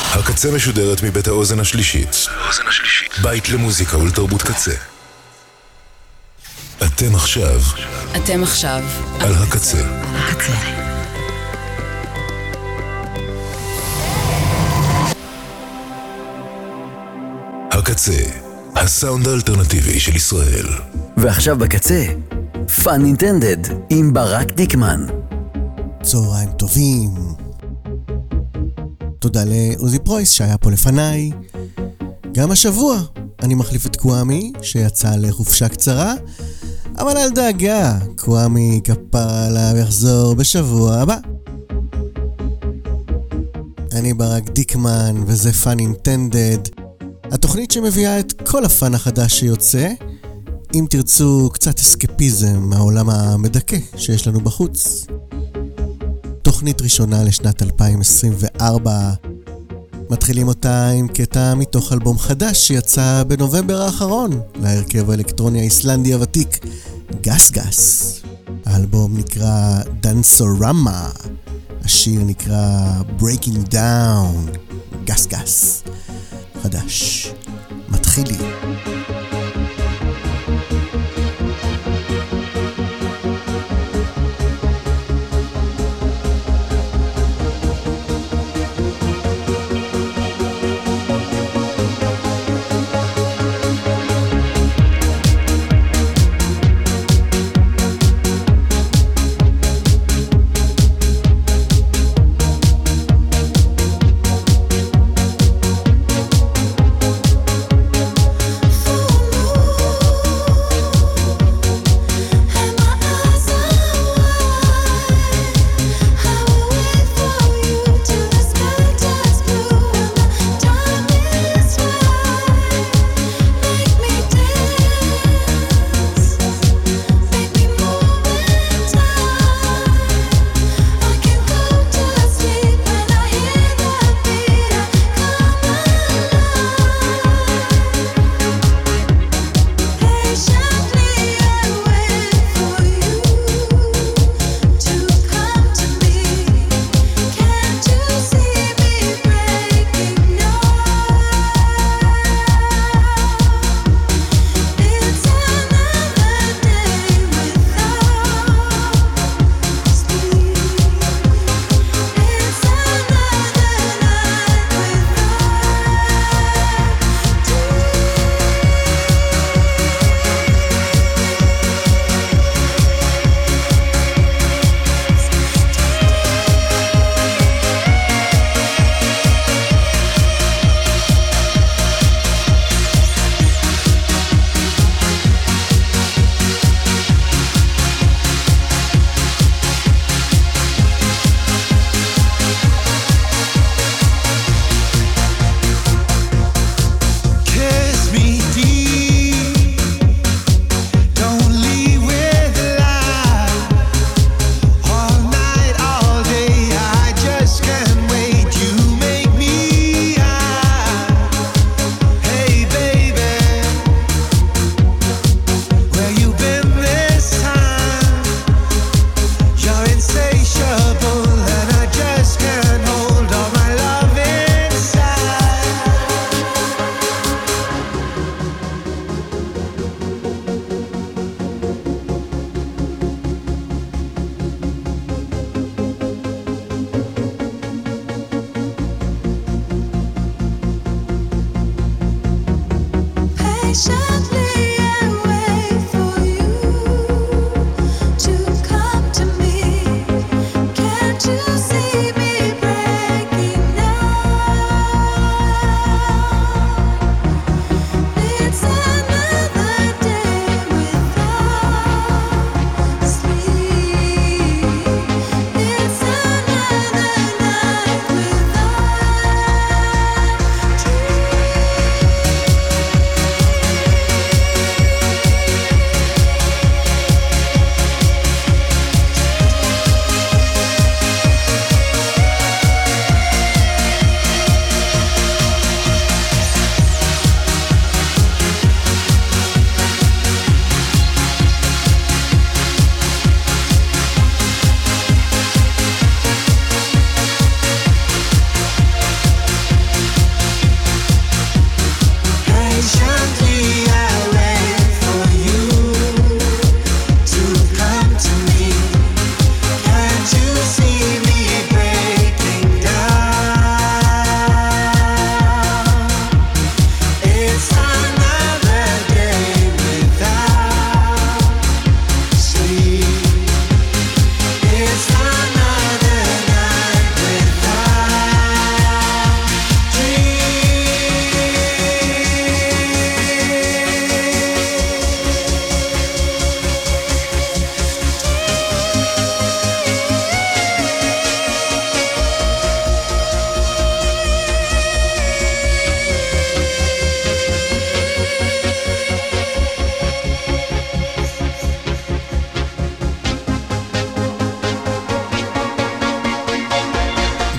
הקצה משודרת מבית האוזן השלישית. בית למוזיקה ולתרבות קצה. אתם עכשיו על הקצה. הקצה, הסאונד האלטרנטיבי של ישראל. ועכשיו בקצה, פאן אינטנדד עם ברק דיקמן. צהריים טובים. תודה לעוזי פרויס שהיה פה לפניי. גם השבוע אני מחליף את קוואמי שיצא לחופשה קצרה, אבל אל דאגה, קוואמי כפרה עליו יחזור בשבוע הבא. אני ברק דיקמן וזה פאן אינטנדד, התוכנית שמביאה את כל הפאן החדש שיוצא, אם תרצו קצת אסקפיזם מהעולם המדכא שיש לנו בחוץ. תוכנית ראשונה לשנת 2024. מתחילים אותה עם קטע מתוך אלבום חדש שיצא בנובמבר האחרון להרכב האלקטרוני האיסלנדי הוותיק גס גס. האלבום נקרא דנסורמה, השיר נקרא Breaking Down. גס גס חדש מתחילים.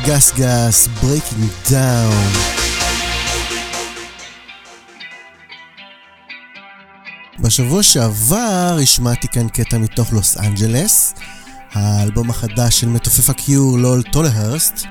גס גס, Breaking Down. בשבוע שעבר השמעתי כאן קטע מתוך לוס אנג'לס, האלבום החדש של מתופף הקיור לול טולהרסט,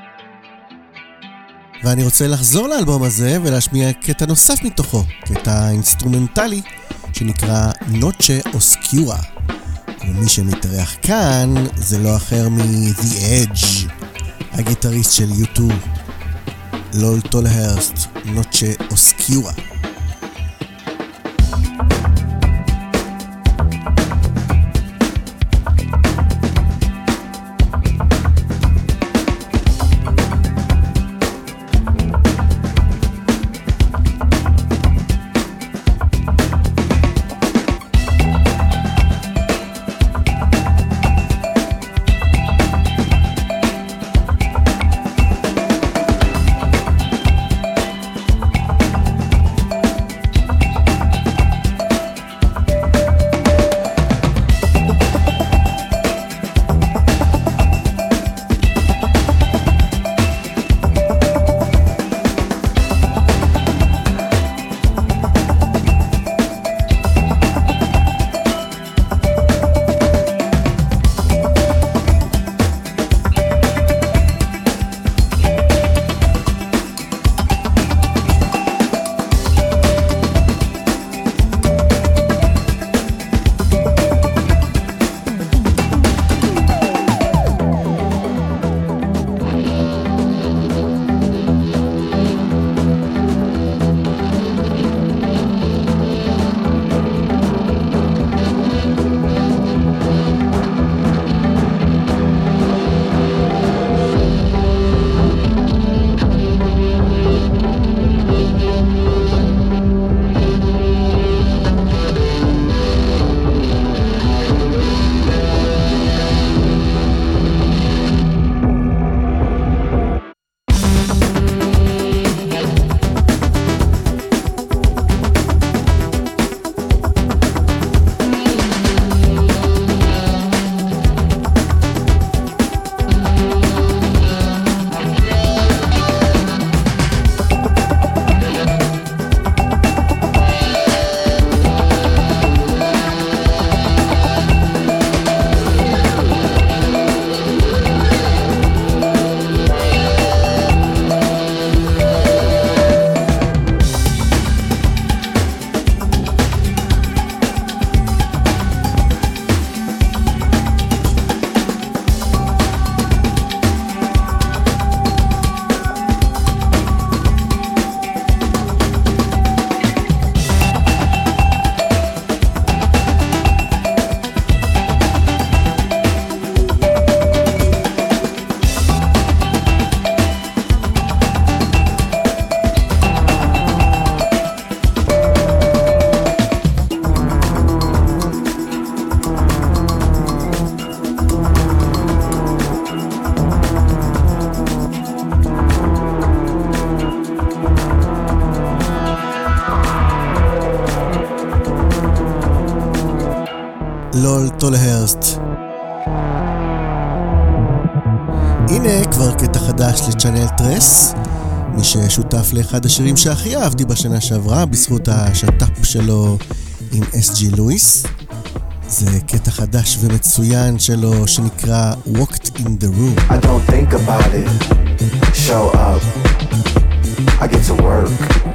ואני רוצה לחזור לאלבום הזה ולהשמיע קטע נוסף מתוכו, קטע אינסטרומנטלי שנקרא נוצ'ה אוסקיורה. ומי שמתארח כאן זה לא אחר מ-The Edge, הגיטריסט של U2, לול טולהרסט, נוצ'ה אוסקיורה. לול טולהרסט. הנה כבר קטע חדש לצ'אנל טרס, מי ששותף לאחד השירים שהכי אהבתי בשנה שעברה בזכות השת"פ שלו עם SG לואיס. זה קטע חדש ומצוין שלו שנקרא Walked in the Room. I don't think about it, show up, I get to work.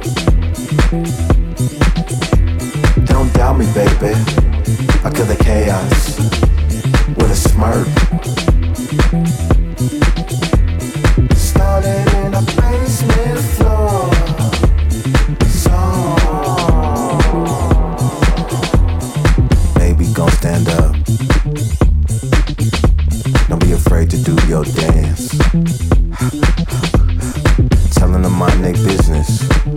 Don't doubt me baby, I kill the chaos with a smirk. Started in a basement floor song. Baby gon' stand up, don't be afraid to do your dance. Telling them my neck business,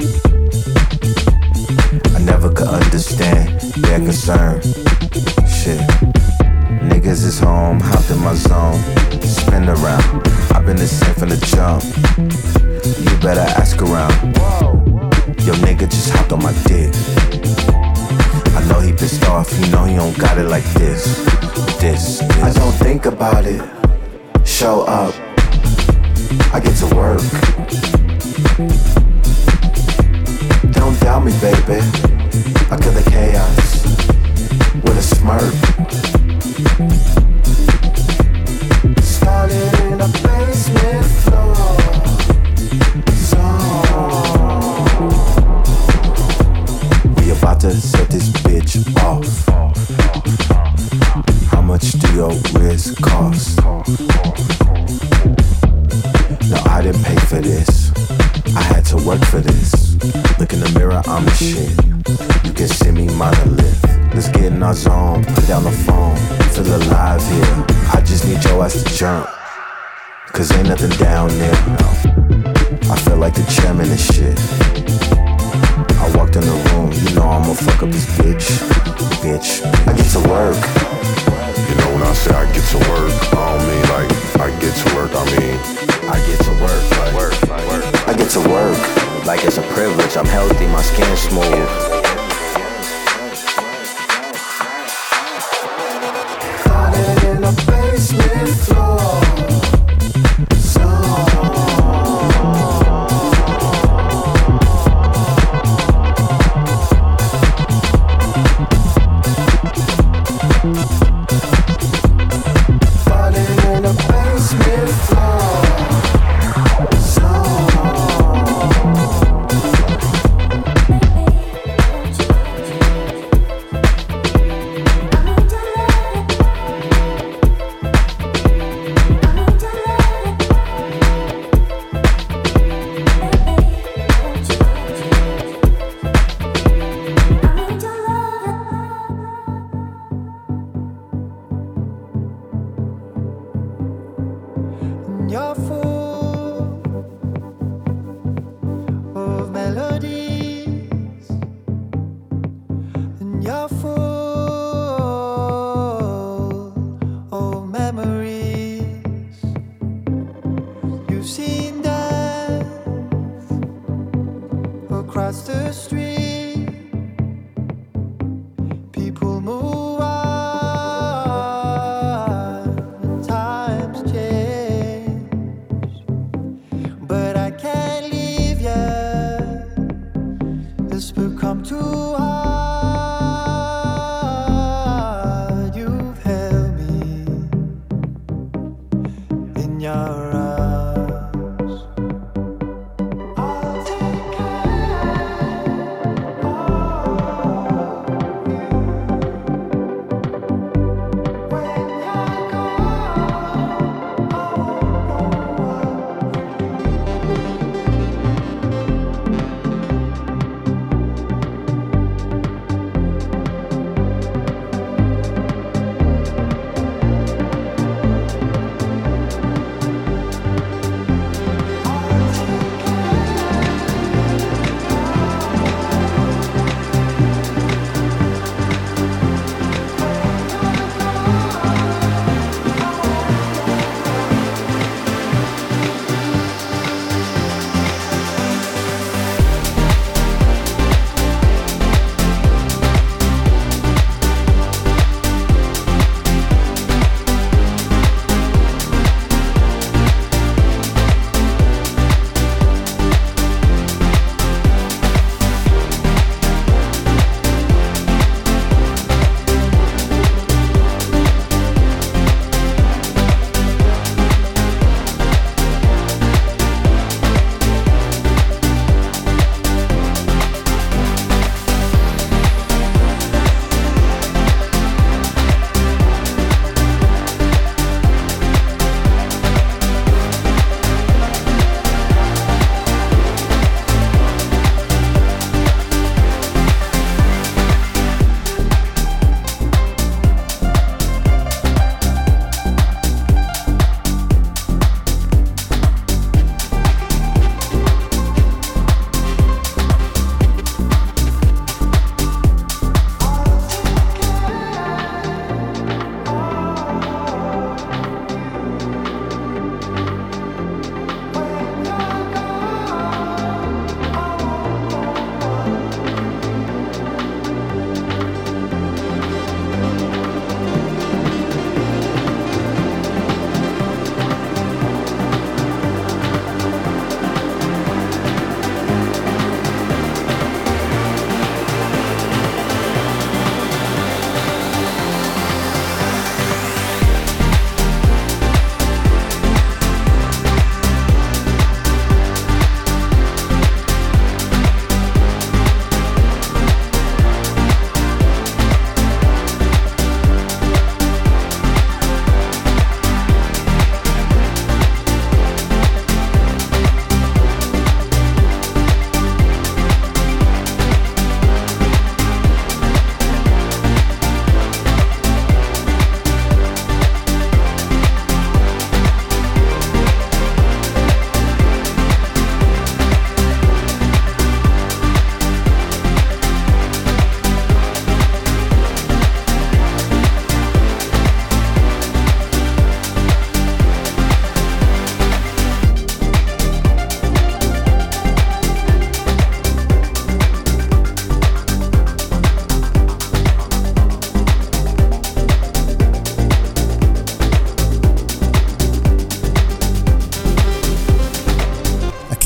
I never could understand their concern. Shit, niggas is home, hopped in my zone, spin around. I've been the same from the jump. You better ask around. Yo, nigga just hopped on my dick. I know he pissed off, you know he don't got it like this. I don't think about it, show up, I get to work. Don't doubt me, baby. I kill the chaos with a smirk. Started in a basement floor zone. We about to set this bitch off. How much do your wrist cost? No, I didn't pay for this. I had to work for this. Look in the mirror, I'm the shit. You can see me monolith. Let's get in our zone, put down the phone. Feel alive here. I just need your ass to jump. Cause ain't nothing down there. I feel like the chairman and shit. I walked in the room, you know I'ma fuck up this bitch. Bitch, I get to work. You know when I say I get to work, I don't mean like I get to work, I mean I get to work, like, I get to work. Like it's a privilege, I'm healthy, my skin's smooth. Started in a basement floor zone. Started in a basement floor zone.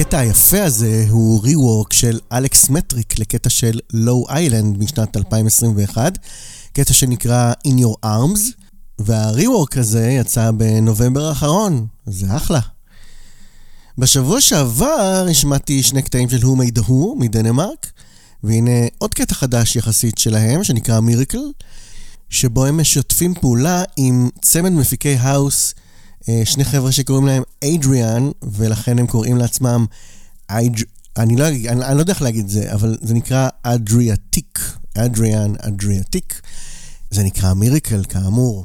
הקטע היפה הזה הוא ריוורק של אלכס מטריק לקטע של לואו איילנד משנת 2021, קטע שנקרא In Your Arms, והריוורק הזה יצא בנובמבר האחרון, זה אחלה. בשבוע שעבר השמעתי שני קטעים של Who Made Who מדנמרק, והנה עוד קטע חדש יחסית שלהם שנקרא מיריקל, שבו הם משתפים פעולה עם צמד מפיקי האוס, שני חבר'ה שקוראים להם אדריאן, ולכן הם קוראים לעצמם אני לא יודע איך להגיד זה, אבל זה נקרא אדריאטיק, אדריאן אדריאטיק, זה נקרא מיריקל כאמור.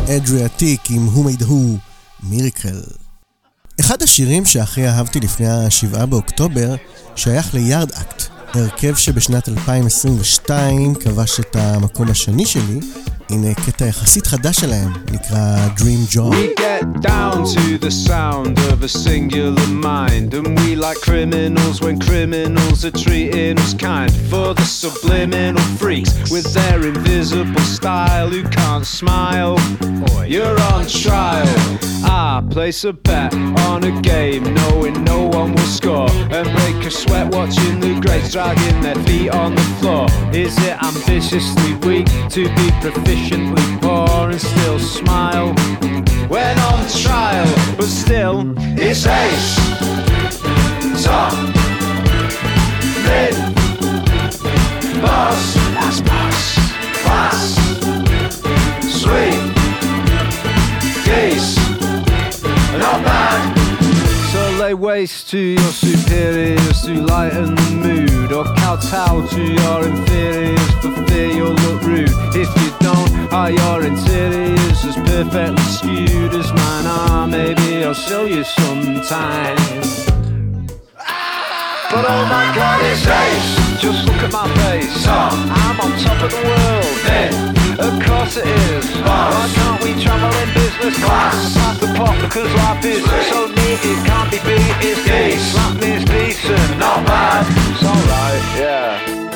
אדריאטיק עם Who Made Who, מיריקל. אחד השירים שהכי אהבתי לפני ה7 באוקטובר שייך ליארד אקט, הרכב שבשנת 2022 כבש את המקום השני שלי. הנה קטע יחסית חדש שלהם, נקרא Dream Job. We get down to the sound of a singular mind, and we like criminals when criminals are treating us kind. For the subliminal freaks with their invisible style who can't smile, you're on trial. I place a bet on a game knowing no one will score, and break a sweat watching the greats dragging their feet on the floor. Is it ambitiously weak to be proficiently poor and still smile when on trial? But still, it's ace, top, mid, boss, that's boss, class, sweet, geese, not bad. So lay waste to your superiors to lighten the mood, or kowtow to your inferiors for fear you'll look rude. If you don't, are your interiors as perfectly skewed as mine are? Maybe I'll show you sometime. But oh my God, it's ace. Just look at my face. I'm on top of the world. Of course it is. Why can't we travel in business class? Pass the pot because life is so neat it can't be beat. It's decent. Slap me is decent. Not bad. It's alright, yeah.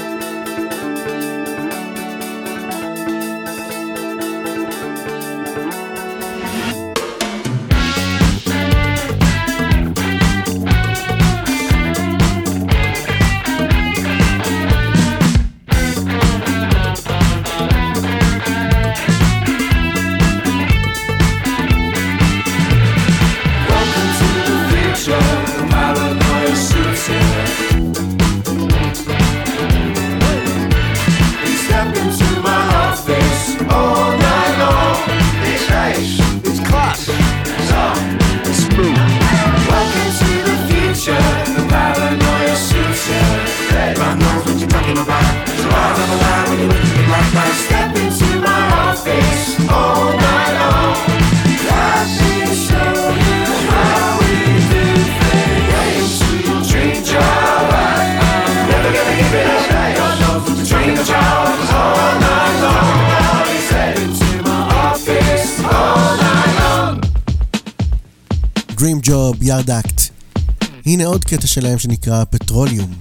Dream Job, יארד אקט. הנה עוד קטע שלהם שנקרא פטרוליום.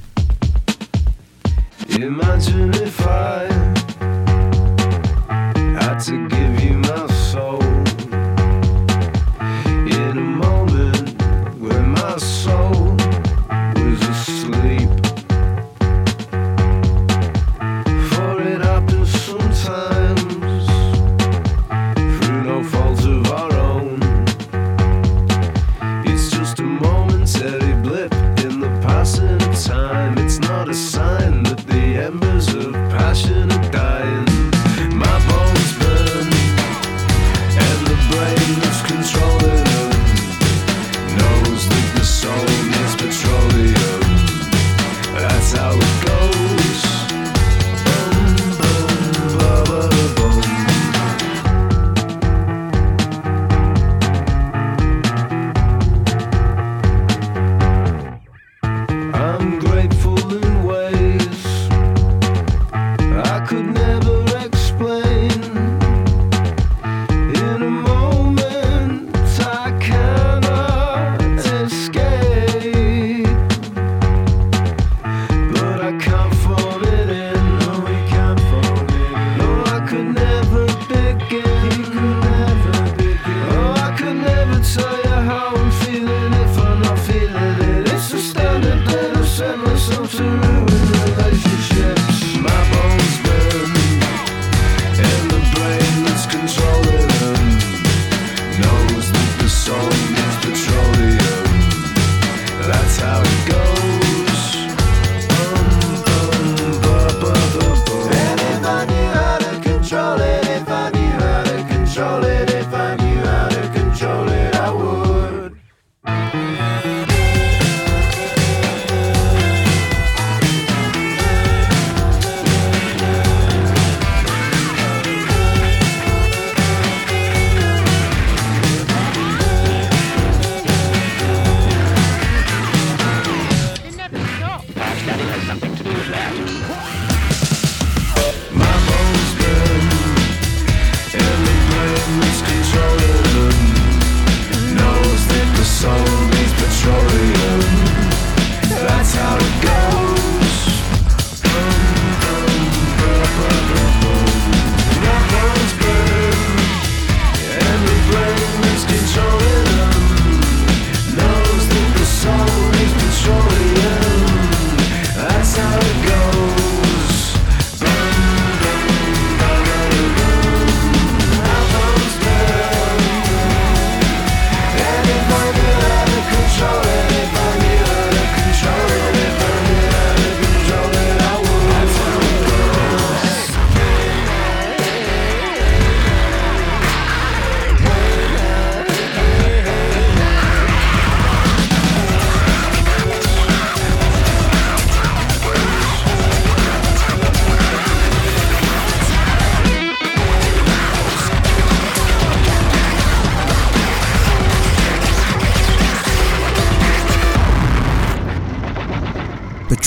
Imagine if I had to give you my soul in a moment when my soul was asleep. For it happens sometimes through no fault of our own. It's just a momentary blip in the passing of time. It's not a sign that the embers of passion are dying. My bones burn, and the brain that's controlling them knows that the soul needs petroleum. That's how it goes. Bum, bum, ba, ba, bum. I'm grateful in ways I could never explain. In a moment I cannot escape, but I can't phone it in. No, we can't phone it in. No, I could never begin. Oh, I could never tell you how I'm feeling if I'm not feeling it. It's a standard that I've set myself to ruin relationships. My bones burn, and the brain that's controlling them knows that the soul needs petroleum. That's how it goes. Ba, ba, ba, ba. And if I knew how to control it, if I knew how to control it, if I knew how to control it, I would.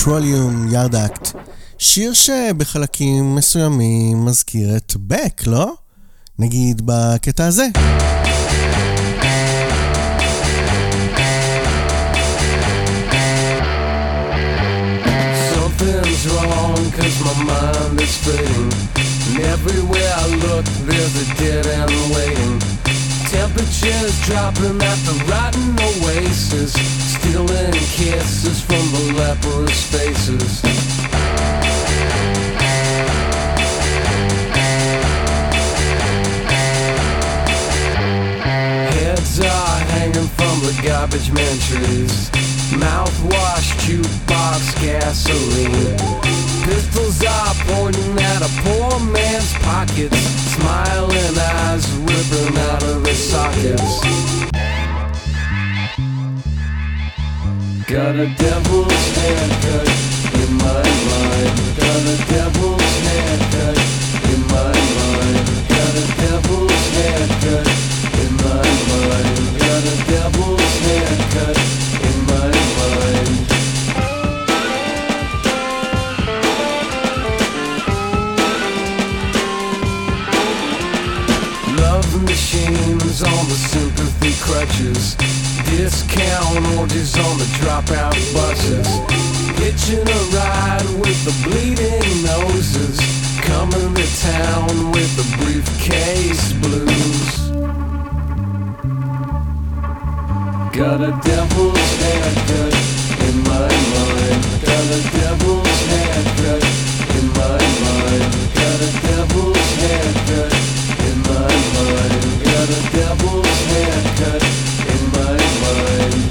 Petroleum Yard Act, שיר שבחלקים מסוימים מזכיר את בק, לא? נגיד בקטע הזה. Something's wrong cause my mind is fading, and everywhere I look there's a dead end waiting. Temperatures dropping at the rotten oasis, stealing kisses from the leprous faces. Heads are hanging from the garbage man trees, mouthwash, jukebox, gasoline. Pistols are pointing at a poor man's pockets, smiling eyes ripping out of his sockets. Got a devil's haircut in my mind. Got a devil's haircut in my mind. Got a devil's haircut in my mind. Got a devil's haircut in my mind. Love machines on the sympathy crutches, discount orgies on the dropout buses, hitching a ride with the bleeding noses, coming to town with the briefcase blues. Got a devil's haircut in my mind. Got a devil's haircut in my mind. Got a devil's haircut in my mind. Got a devil's haircut in my mind.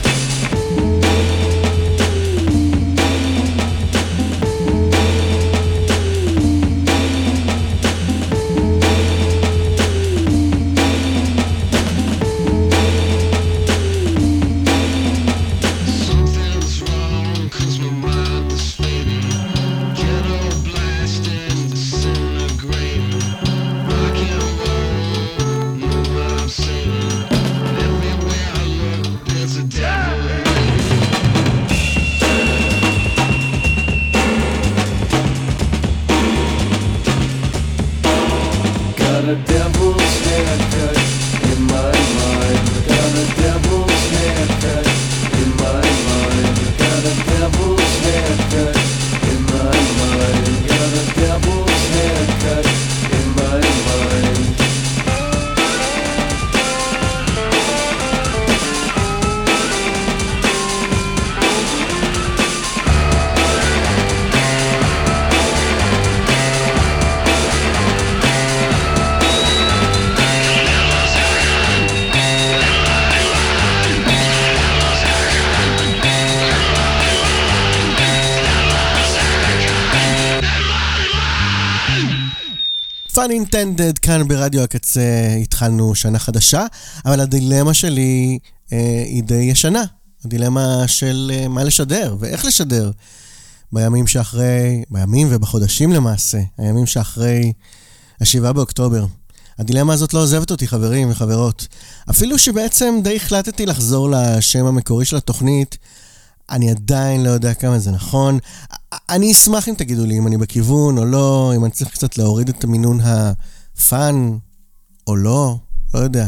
Fun Intended כאן ברדיו הקצה. התחלנו שנה חדשה, אבל הדילמה שלי היא די ישנה. הדילמה של מה לשדר ואיך לשדר בימים שאחרי, בימים ובחודשים למעשה, הימים שאחרי 7 באוקטובר. הדילמה הזאת לא עוזבת אותי, חברים וחברות. אפילו שבעצם די החלטתי לחזור לשם המקורי של התוכנית, אני עדיין לא יודע כמה זה נכון. אני אשמח אם תגידו לי אם אני בכיוון או לא, אם אני צריך קצת להוריד את המינון הפאן או לא, לא יודע.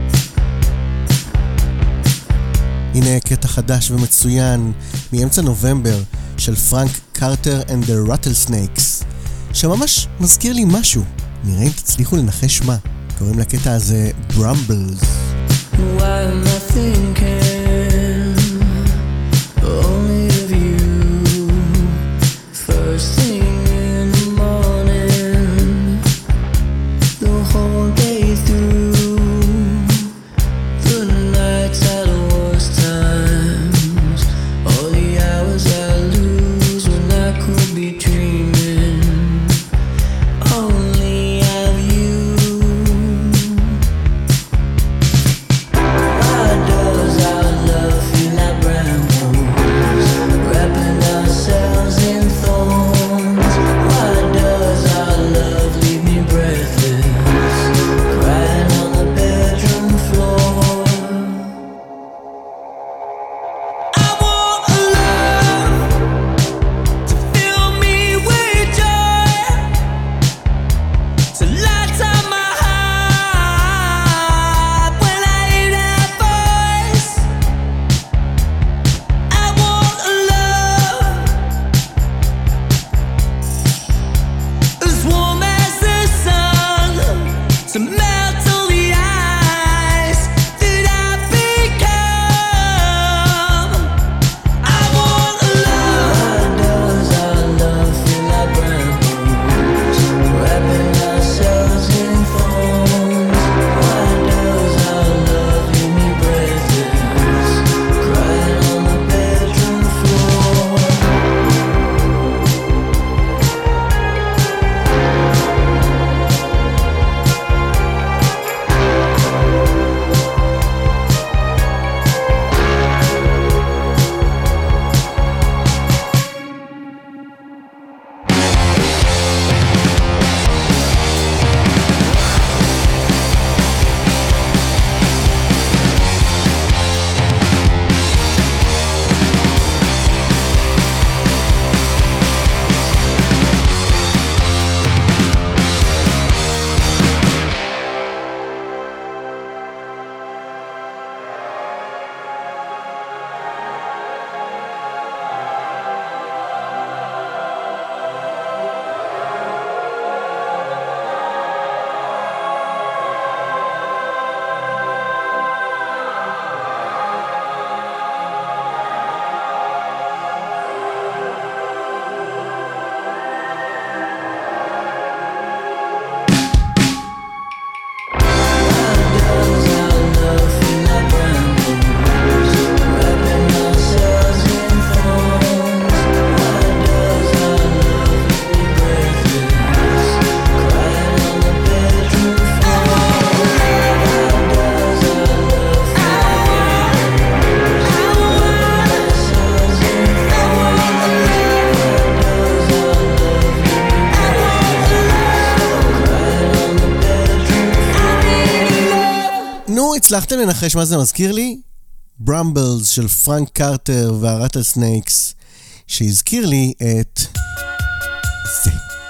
הנה קטע חדש ומצוין מאמצע נובמבר של פרנק קרטר and the Rattlesnakes, שממש מזכיר לי משהו. נראה אם תצליחו לנחש מה. קוראים לקטע הזה Brambles. Why am I thinking only of you? First thing in the morning, the whole day through, the nights at the worst times, all the hours I lose when I could be dreaming only of you. Why does I הצלחתם לנחש מה זה מזכיר לי? ברמבלס של פרנק קרטר והרטל סנייקס, שהזכיר לי את זה.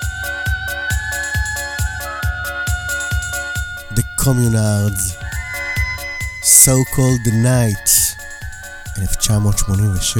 The Communards, So Called the Night, 1986.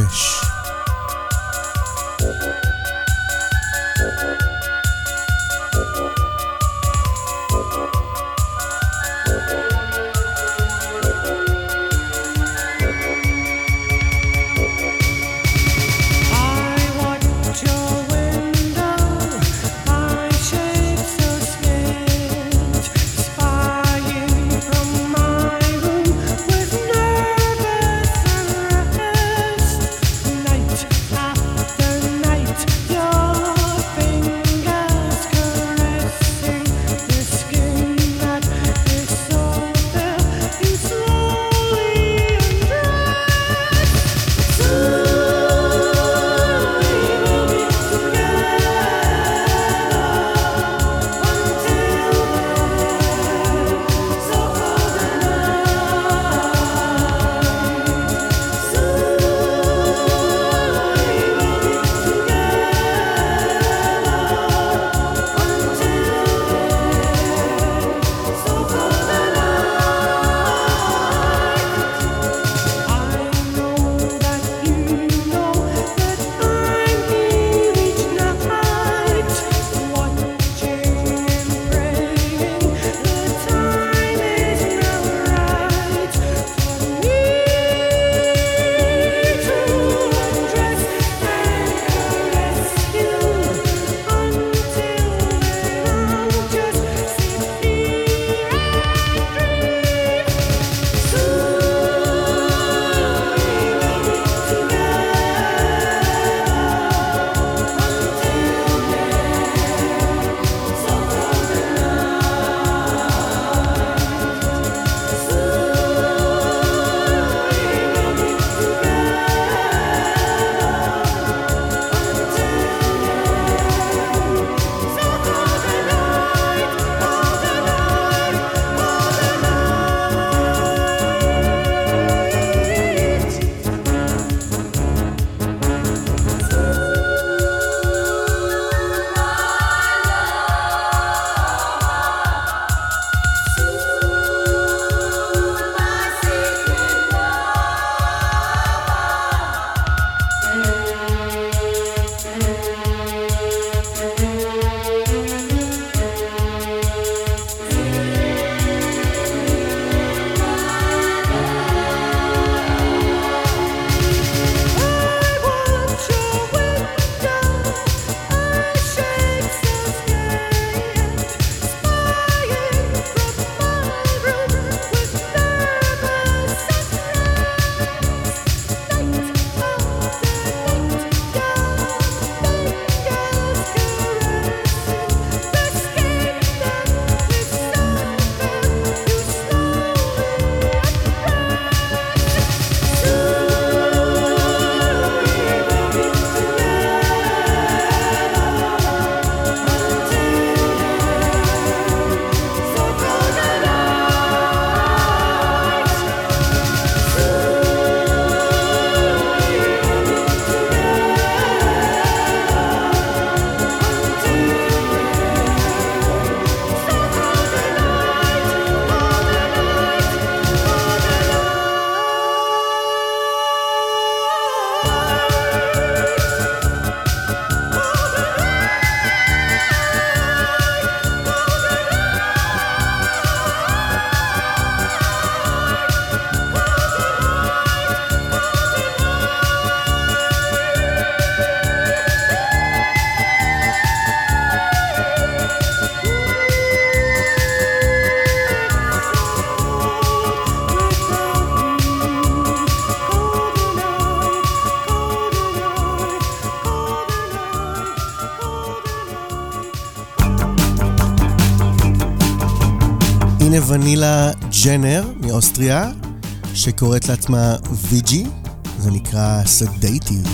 הנה ונילה ג'נר מאוסטריה, שקוראת לעצמה ויג'י, זה נקרא סדייטיב.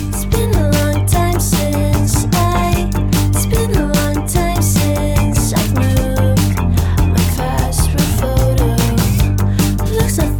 Looks like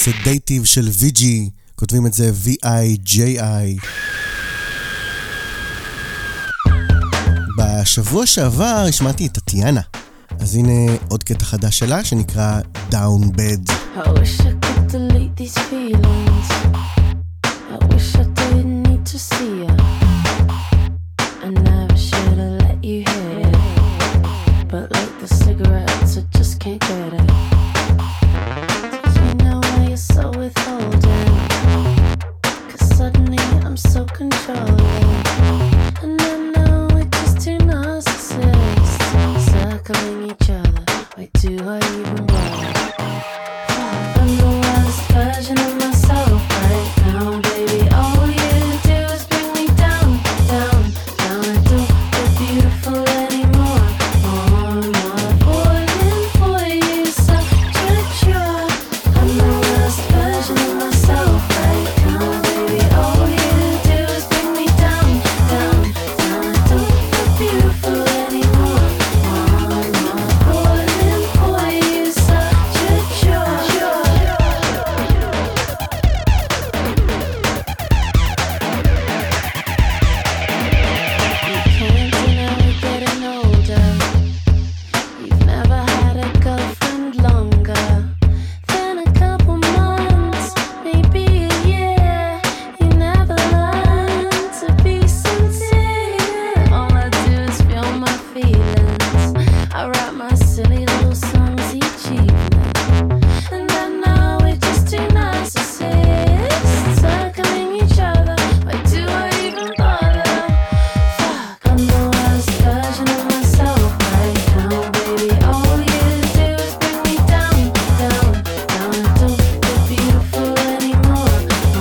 סדייטיב של ויג'י, כותבים את זה V-I-J-I. בשבוע שעבר השמעתי את טטיאנה, אז הנה עוד קטע חדש שלה שנקרא Down Bed. I wish I could delete these feelings. I wish I didn't need to see you. I never should have let you hit it. But like the cigarettes, I just can't get it. Did you know why you're so withholding? 'Cause suddenly I'm so controlling. And I know we're just two narcissists circling each other. Why do I even bother? I'm the worst version of myself right now, baby. All you do is bring me down, down, down. I don't feel beautiful anymore. More falling for you, such a chore. I'm the worst version of myself right now, baby. All you do is bring me down, down, down. I don't feel beautiful anymore. More falling for you, such a chore. You can't deny we're getting older. You've never had a girlfriend longer than a couple months, maybe a year. You never learned to be sincere. All I do is feel my feelings. I write my silly little songs each evening. And I know we're just two narcissists circling each other. Why do I even bother? Fuck, I'm the worst version of myself right now, baby. All you do is bring me down, down, down. I don't feel beautiful anymore.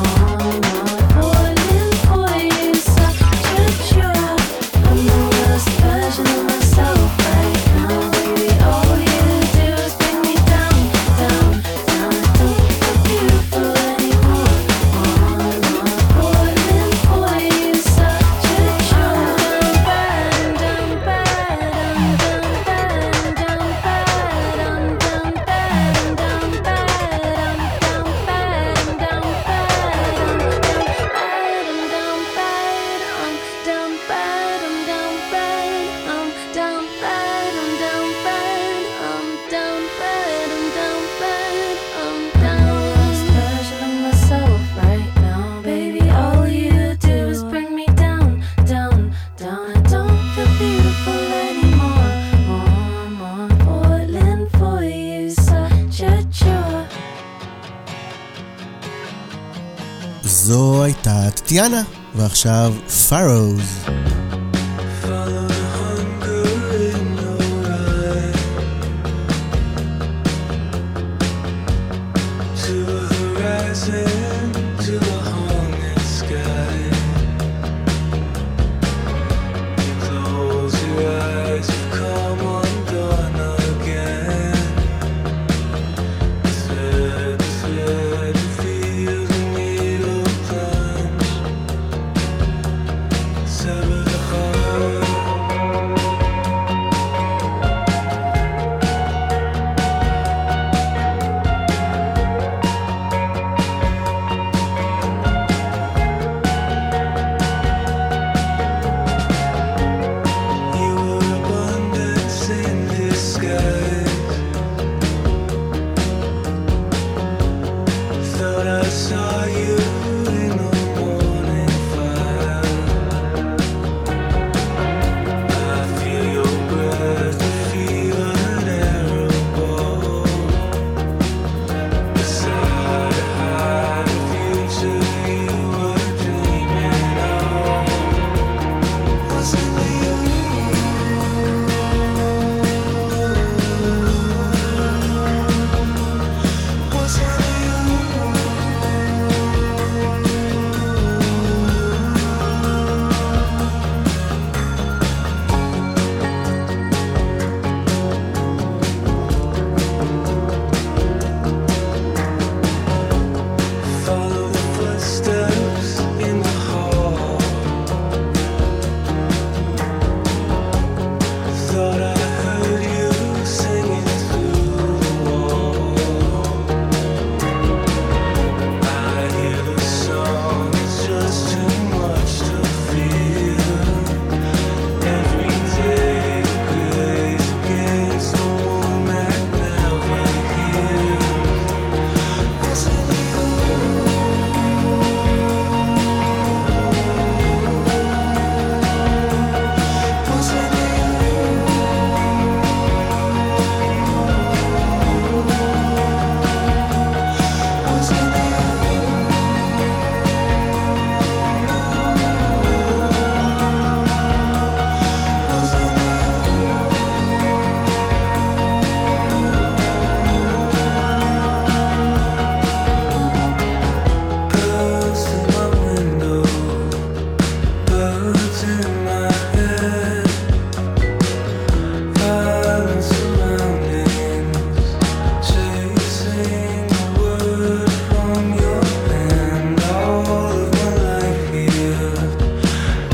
Falling for you, such a chore. I'm the worst version of myself right now, baby. All you do is bring me down, down, down. I don't feel beautiful anymore. Falling for you, such a chore. Down bad, down bad, down bad, down bad, down bad, down זו הייתה טטיאנה, ועכשיו פארוז. Seven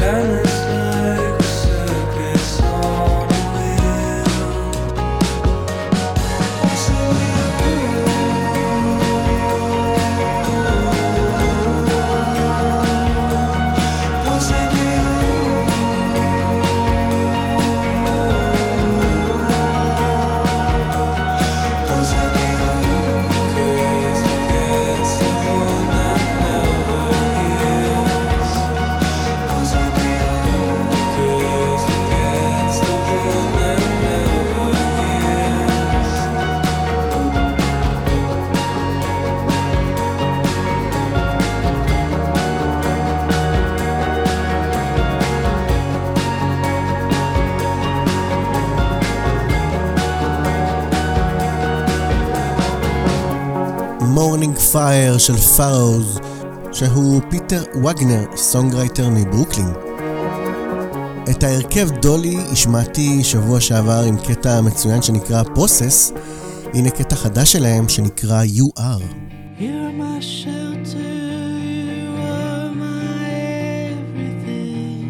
Morning Fire של פארוז, שהוא פיטר וגנר, סונגרייטר מברוקלין. את ההרכב דולי השמעתי שבוע שעבר עם קטע מצוין שנקרא Process. הנה קטע חדש שלהם שנקרא You Are. You're my shelter, you are my everything.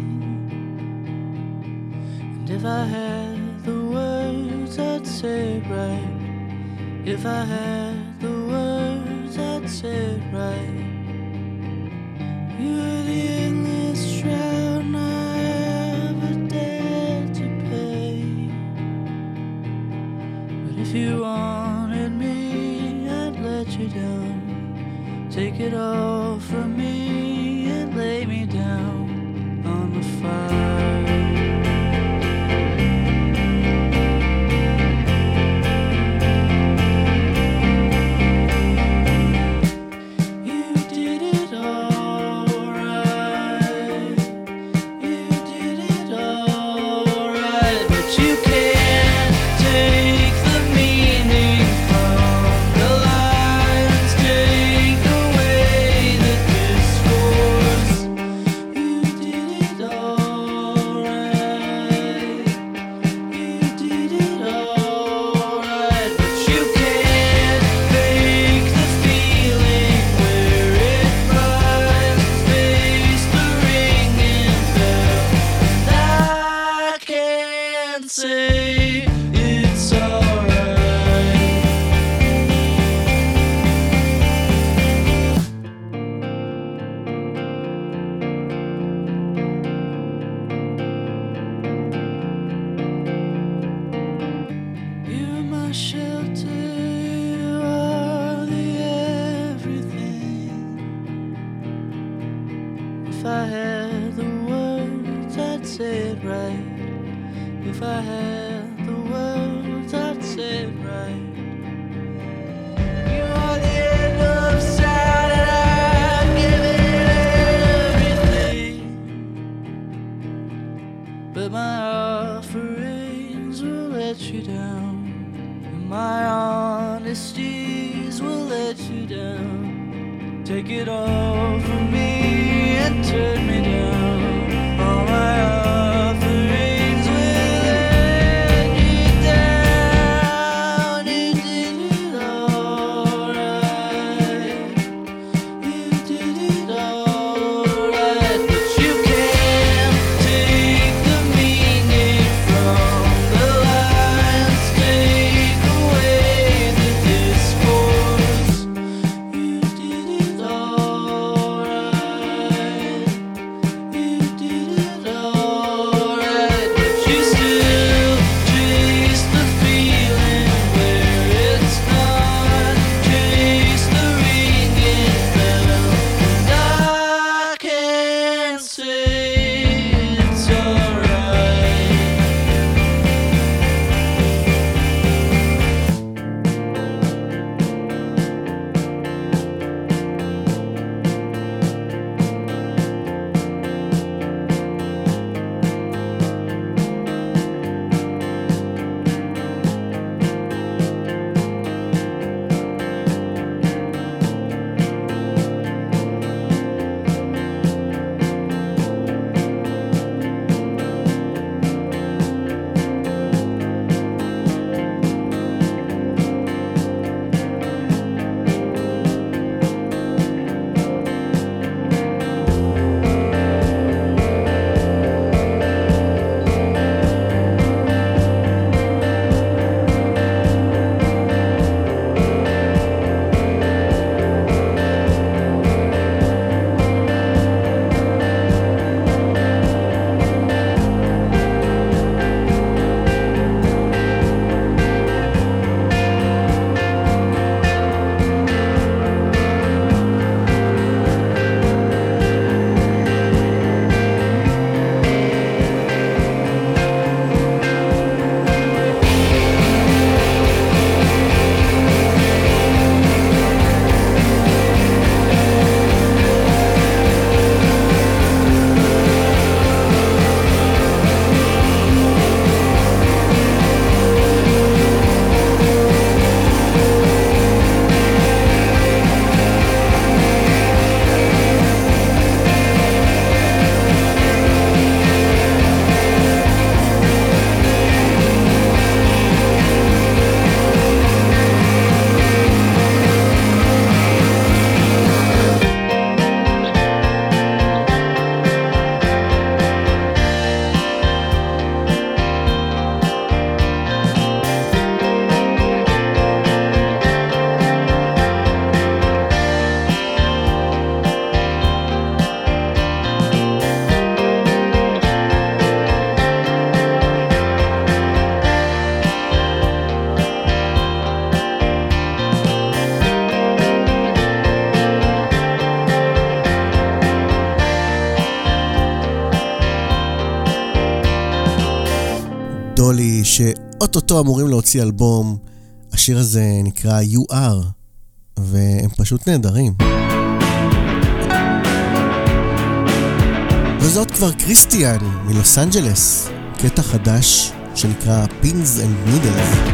And if I had the words, I'd say it right. If I had the words, I'd say it right. You're the endless shroud I ever dared to pay. But if you wanted me, I'd let you down. Take it all from me and lay me down on the fire. All right. דולי, שאוטוטו אמורים להוציא אלבום. השיר הזה נקרא You Are, והם פשוט נהדרים. וזאת כבר קריסטיאן מלוס אנג'לס, קטע חדש שנקרא Pins and Needles.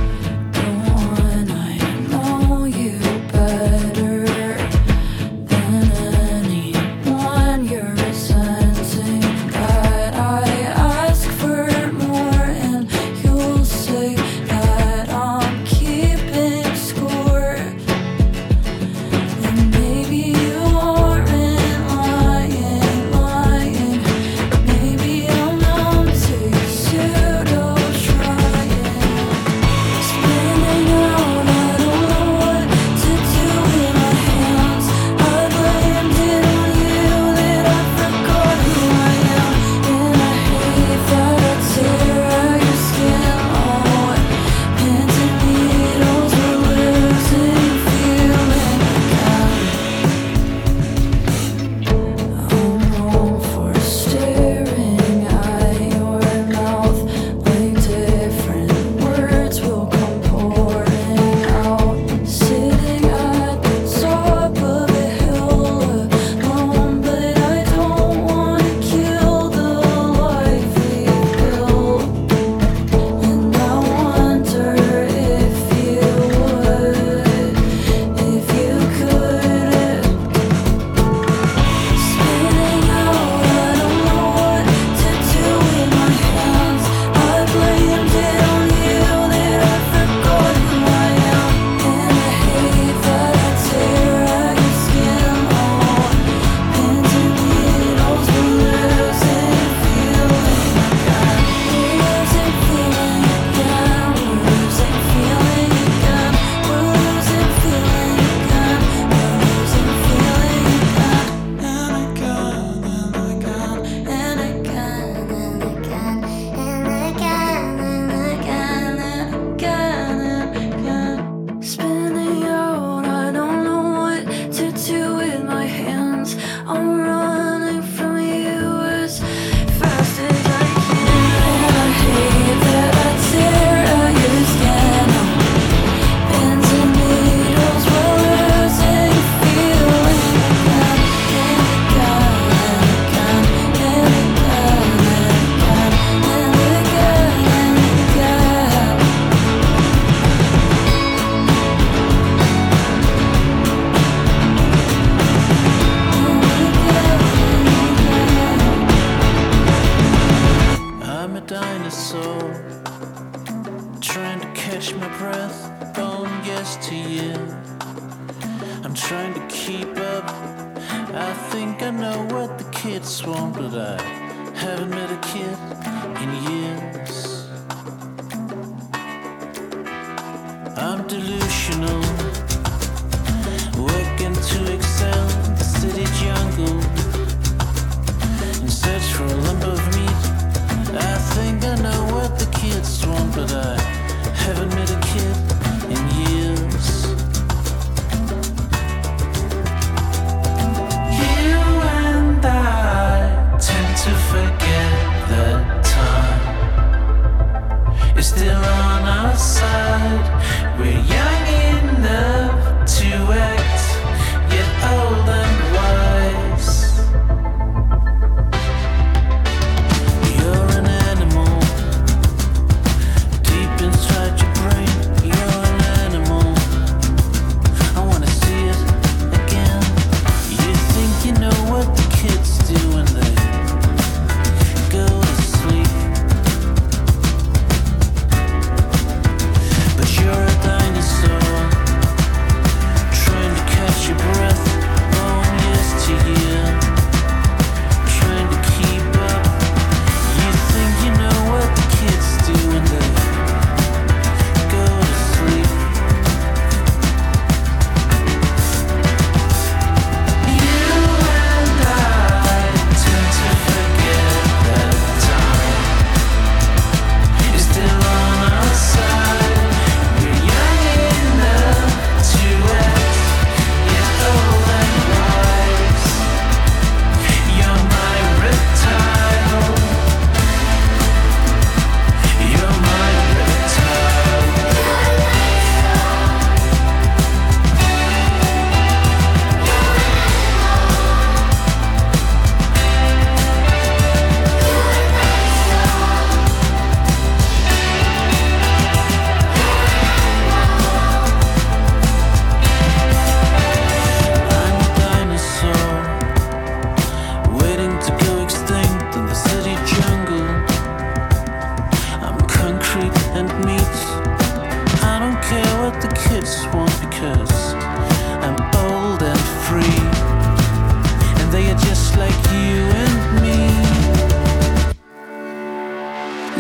Still on our side, we're young enough.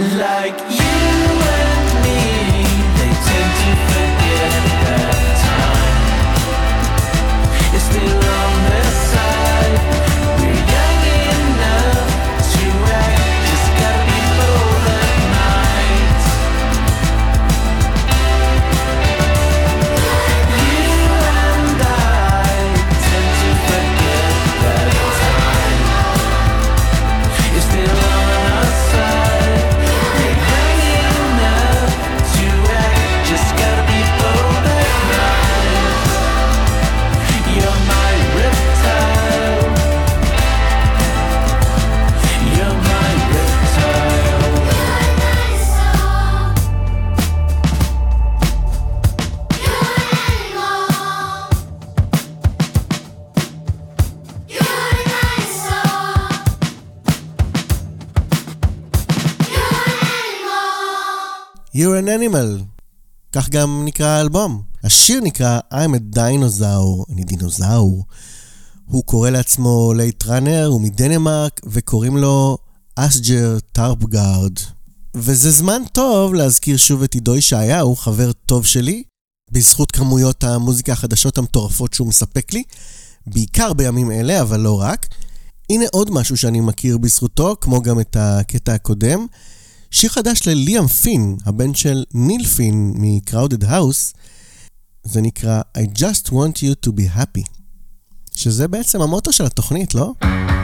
Like you and me, they tend to forget that time is still on their side. We're young enough to act, just gotta be bold at night. You and I tend to forget that time is still on our side. We're young enough to act, just gotta be bold at night. You're my reptile. You're my reptile. You're an animal. כך גם נקרא האלבום. השיר נקרא I'm a dinosaur, אני דינוזאור. הוא קורא לעצמו לייט ראנר, הוא מדנמרק, וקוראים לו אסג'ר טרפגארד. וזה זמן טוב להזכיר שוב את עידו ישעיהו, חבר טוב שלי, בזכות כמויות המוזיקה החדשות המטורפות שהוא מספק לי, בעיקר בימים אלה, אבל לא רק. הנה עוד משהו שאני מכיר בזכותו, כמו גם את הקטע הקודם. שיר חדש לליאם פין, הבן של ניל פין מ-Crowded House, זה נקרא I just want you to be happy, שזה בעצם המוטו של התוכנית, לא?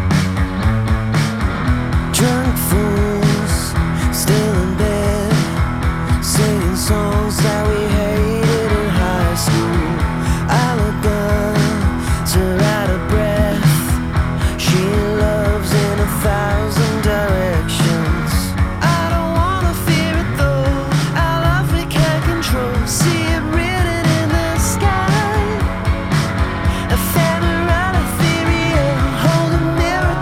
Drunk fools, still in bed, singing songs that we hated in high school. I look up, her out of breath. She loves in 1,000 directions. I don't wanna fear it though. Our love we can't control. See it written in the sky. A family ethereal, hold a mirror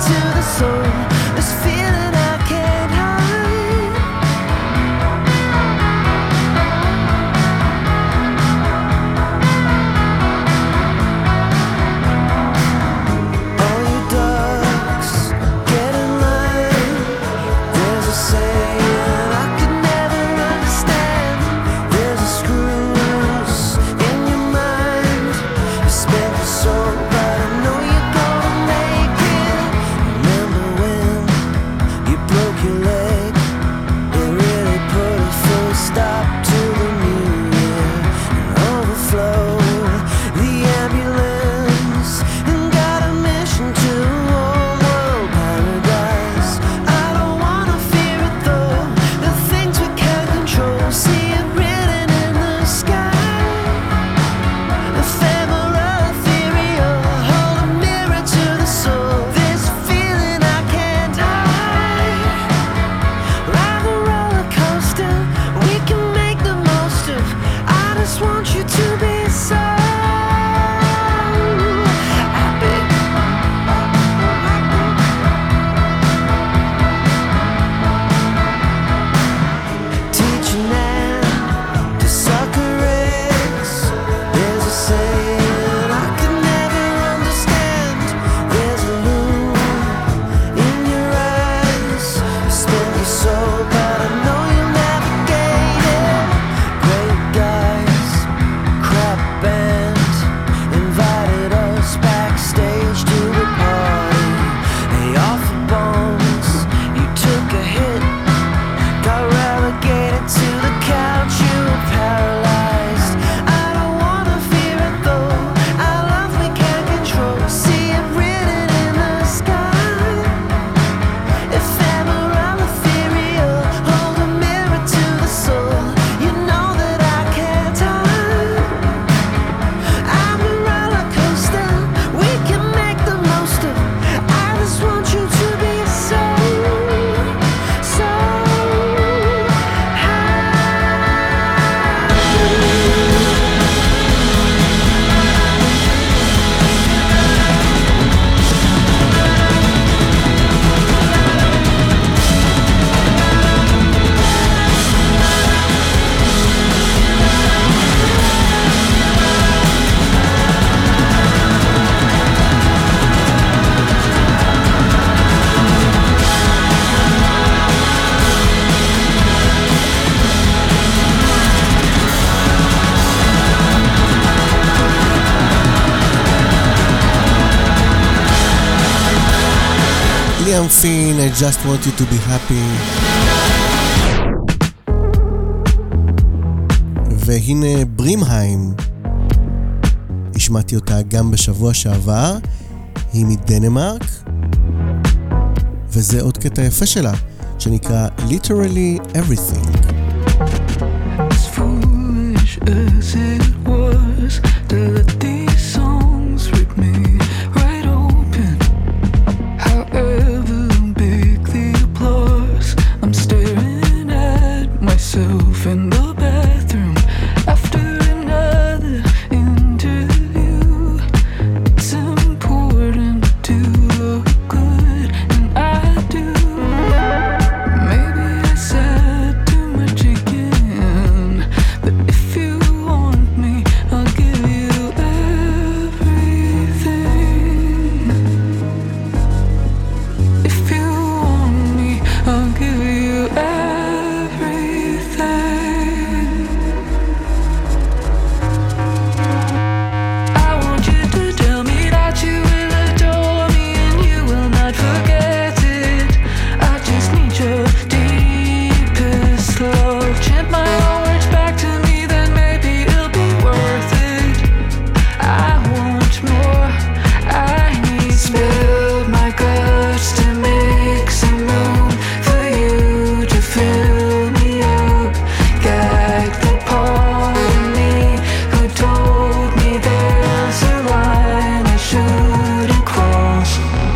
ליאם פין, I just want you to be happy. והנה ברימהיים, השמעתי אותה גם בשבוע שעבר, היא מדנמרק, וזה עוד קטע יפה שלה, שנקרא Literally Everything. As foolish as it was to let these songs rip me right open. However big the applause, I'm staring at myself in the bathroom after another interview. It's important to look good, and I do. Maybe I said too much again, but if you want me, I'll give you everything. If you want me, I'll give you everything. I want you to tell me that you will adore me and you will not forget it. I just need your deepest love. Chant my own words back to me, then maybe it'll be worth it. I want more, I need spill my guts to make some room for you to fill me up. Gag the part of me who told me there's a line I shouldn't cross.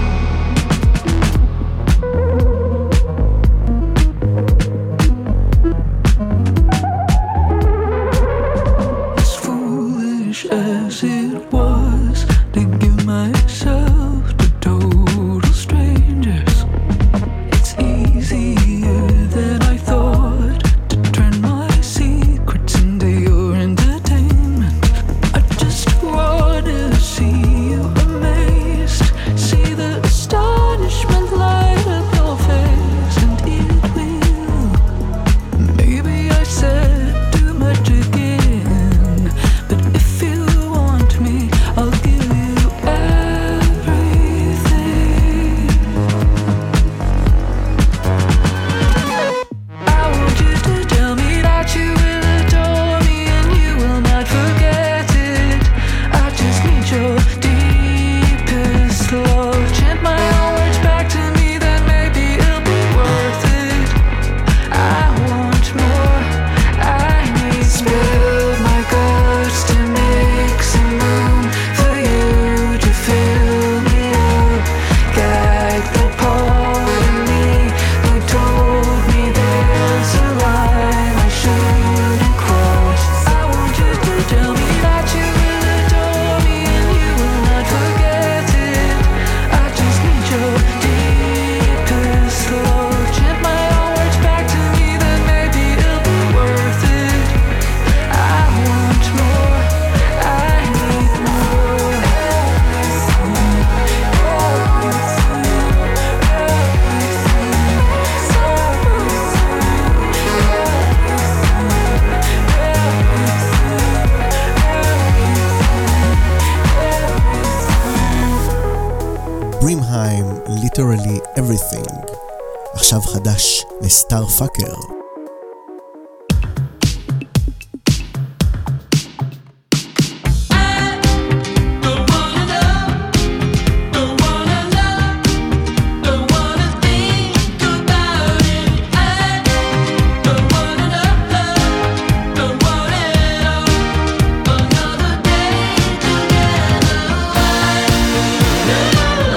As foolish as it was to give myself to total strangers, it's easier than I thought to turn my secrets into your entertainment. I just wanna see you amazed, see the astonishment light up your face, and it will. Maybe I said too much again, but if you want me, I'll give you everything. I want you to tell me that you will adore me and you will not forget it. I just need your deepest love. Chant my own words back to me, then maybe it'll be worth it. I want more, I need spill my guts to make some room for you to fill me up. Gag the part of me who told me there's a line I shouldn't cross. I want you to tell me that you will adore me and you will not forget it. I just need your deepest love. Chant my own words back to me, then maybe it'll be worth it. I want more, I need more. ברימהיים, Literally Everything. עכשיו חדש לסטאר פאקר.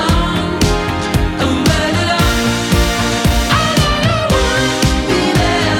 Be there.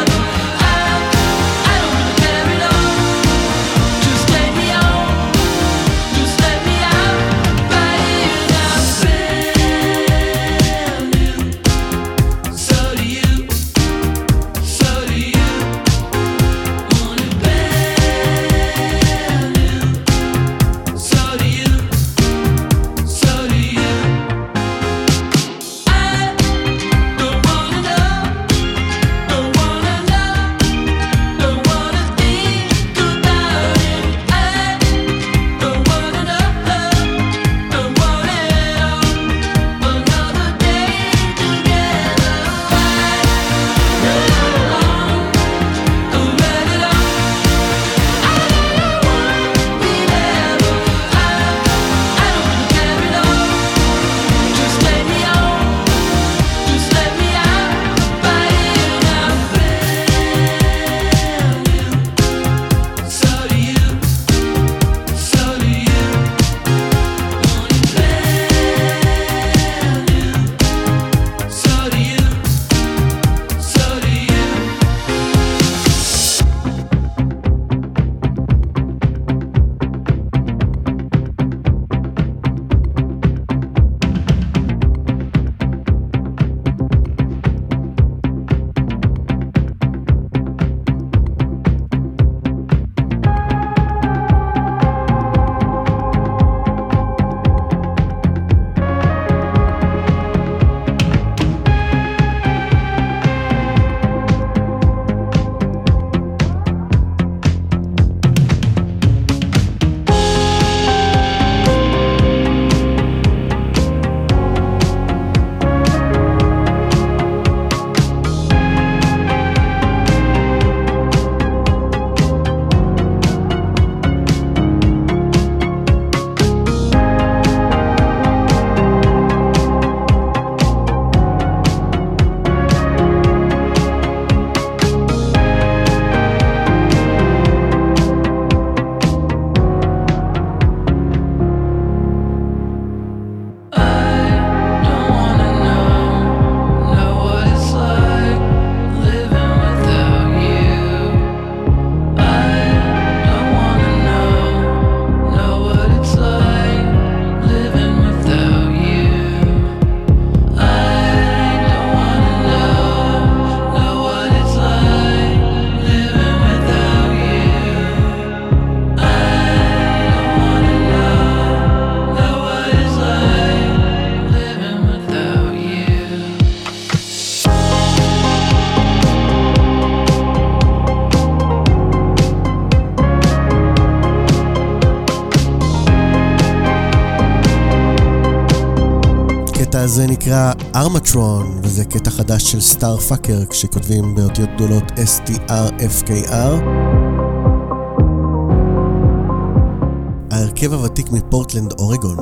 הקטע הזה נקרא ארמטרון, וזה קטע חדש של סטארפאקר, כשכותבים באותיות גדולות STRFKR. ההרכב הוותיק מפורטלנד, אורגון.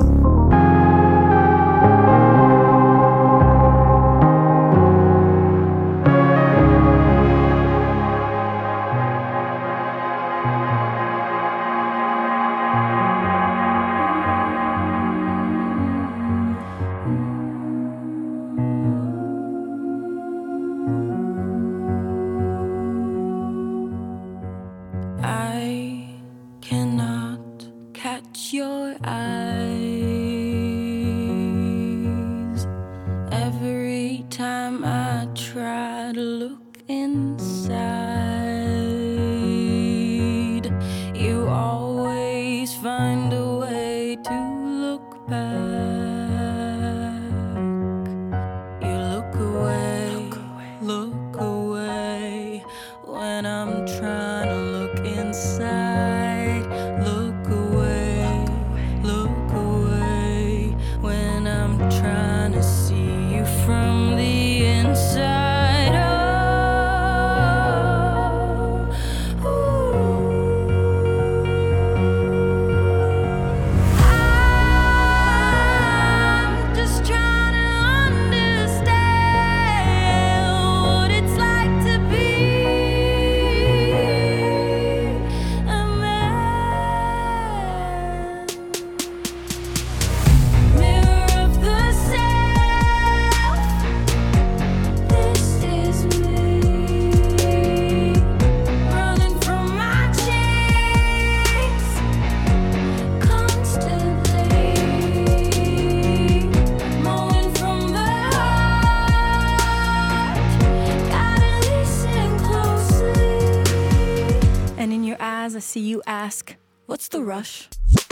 What's the rush?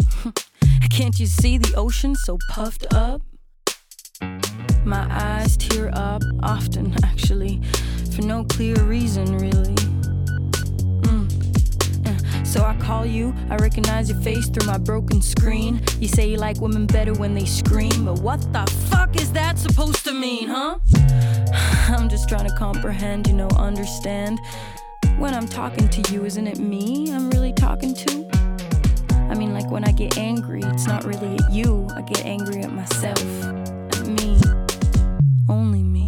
Can't you see the ocean so puffed up? My eyes tear up often, actually, for no clear reason, really. So I call you, I recognize your face through my broken screen. You say you like women better when they scream, but what the fuck is that supposed to mean, huh? I'm just trying to comprehend, understand. When I'm talking to you, isn't it me I'm really talking to? I mean, like when I get angry, it's not really at you. I get angry at myself, at me, only me.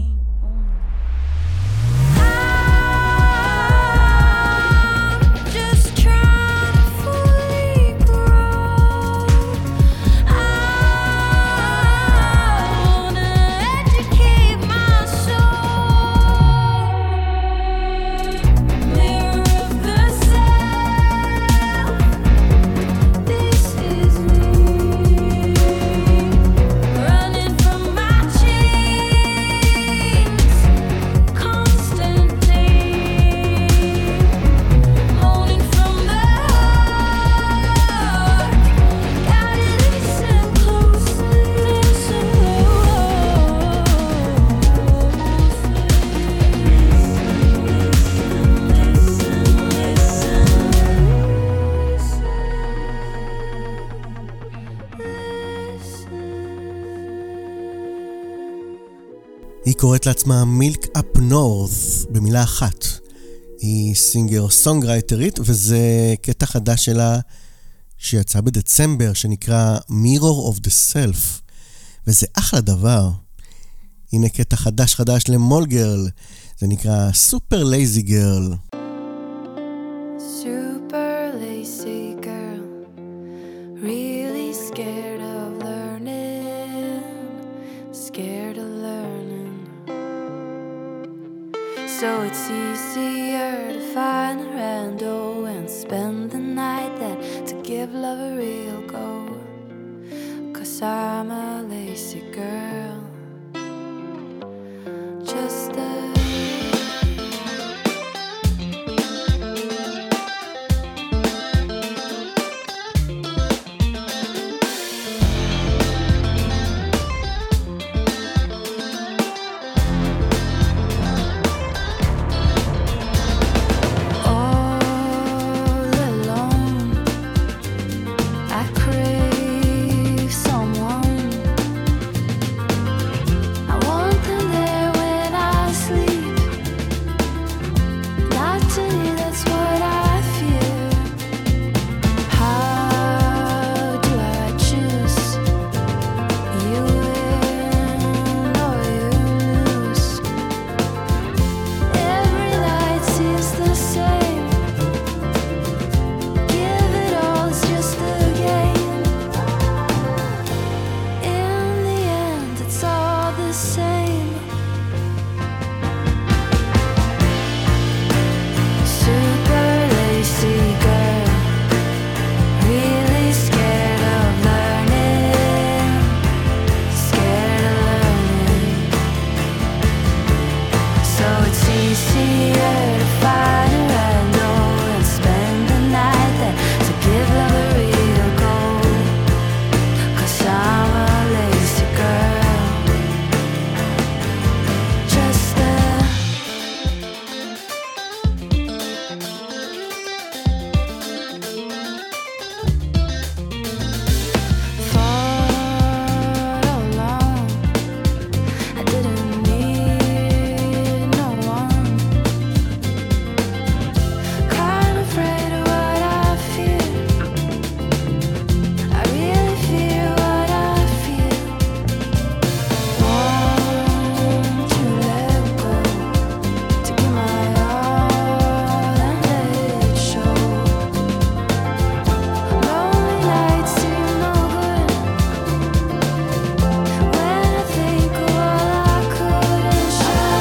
היא קוראת לעצמה מילק אפ נורת במילה אחת. היא סינגר סונגרייטרית, וזה קטע חדש שלה שיצא בדצמבר, שנקרא Mirror of the Self, וזה אחלה דבר. הנה קטע חדש למול גרל, זה נקרא Super Lazy Girl. Super lazy girl, really scared of learning, scared of learning. So it's easier to find a rando and spend the night than to give love a real go. 'Cause I'm a lazy girl, just a easier to find a random and spend the night there to give love a real goal. 'Cause I'm a lazy girl. Just thought all along I didn't need no one. Kind of afraid of what I feel. I really feel what I feel. Want to let go, to give my all and let it show. Lonely nights seem no good when I think of all I couldn't show.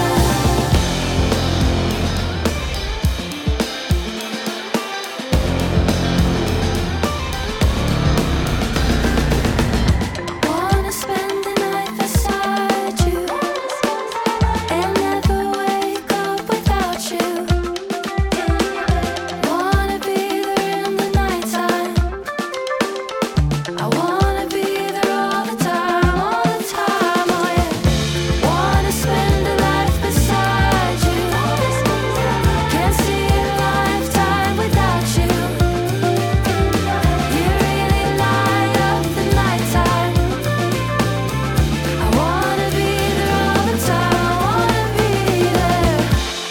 Wanna spend the night beside you and never wake up without you. Wanna be there in the nighttime. I wanna be there all the time, oh yeah. Wanna spend a life beside you. Can't see a lifetime without you. You really light up the nighttime. I wanna be there all the time. I wanna be there.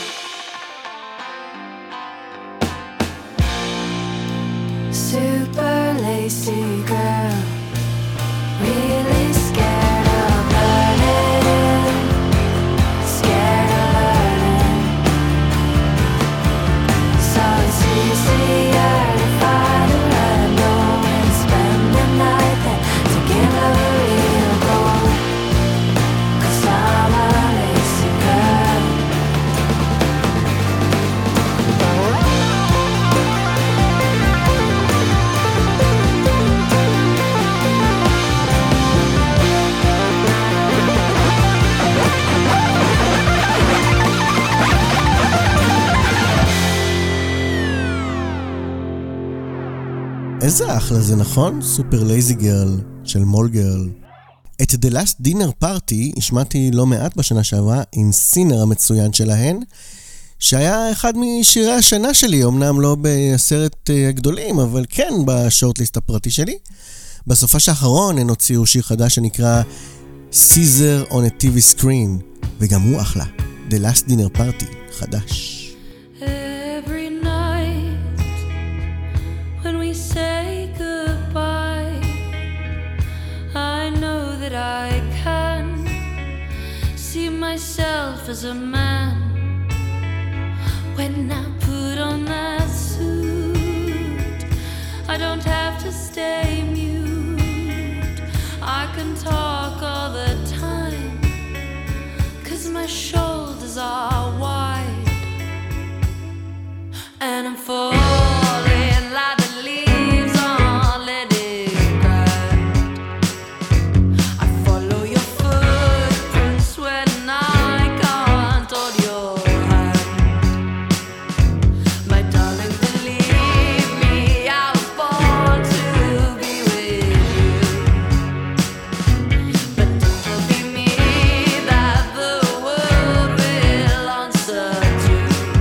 Super lazy girl, really scared of learning, scared of learning. So it's easier to find a random and spend the night there to give love a real goal. 'Cause I'm a lazy girl. איזה אחלה זה, נכון? סופר לייזי גרל של מול גרל. את The Last Dinner Party השמעתי לא מעט בשנה שעברה עם סינר המצוין שלהן, שהיה אחד משירי השנה שלי, אמנם לא בעשרת הגדולים, אבל כן בשורטליסט הפרטי שלי. בסופה האחרון הן הוציאו שיר חדש שנקרא Caesar on a TV Screen, וגם הוא אחלה. The Last Dinner Party, חדש. Every night when we say goodbye, I know that I can see myself as a man. When I put on that suit, I don't have to stay mute. I can talk all the time, 'cause my shoulders are wide. And I'm falling like the leaves on letting ground. I follow your footprints when I can't hold your hand. My darling, believe me, I was born to be with you. But don't be me that the world will answer to.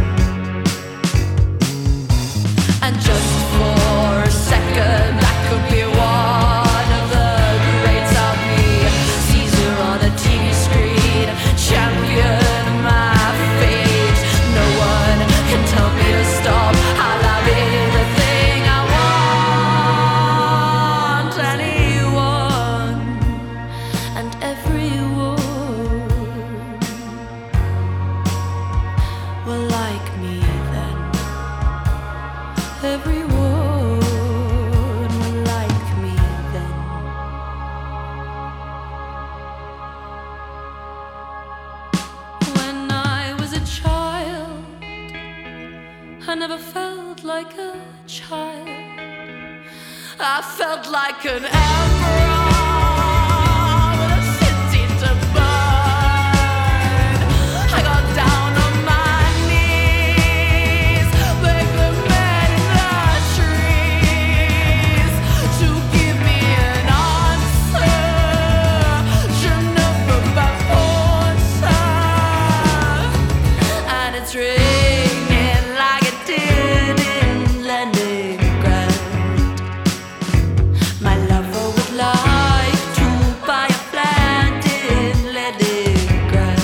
And just for a second, I could be one of the greats of me. Caesar on a TV screen, champion of my fate. No one can tell me to stop. I'll have anything I want. Anyone and everyone will like me then. Everyone will like me then. When I was a child, I never felt like a child. I felt like an emperor with a city to burn. I got down on my it's ringing like it did in Leningrad. My lover would like to buy a flat in Leningrad,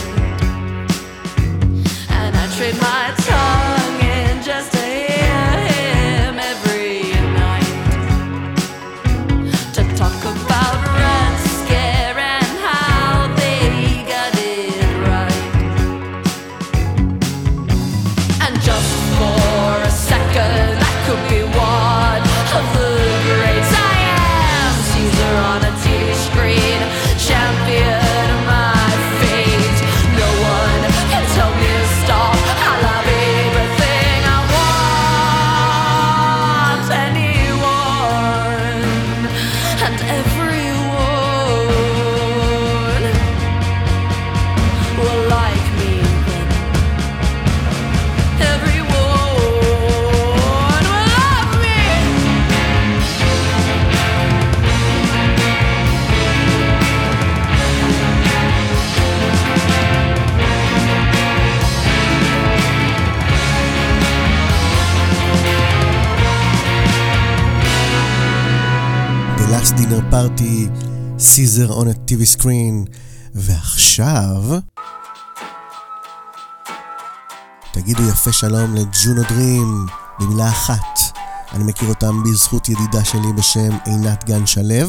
and I trade my tongue in just to hear him every night, to talk about Red Scare and how they got it right. And just for a second, I could be one of the greats. I am Caesar on a TV screen, champion of my fate. No one can tell me to stop. I love everything I want, anyone and everyone will like me then. Everyone will love me. The Last Dinner Party, Caesar on a TV screen. ועכשיו תגידו יפה שלום לג'ונו דרים במילה אחת. אני מכיר אותם בזכות ידידה שלי בשם עינת גן שלב.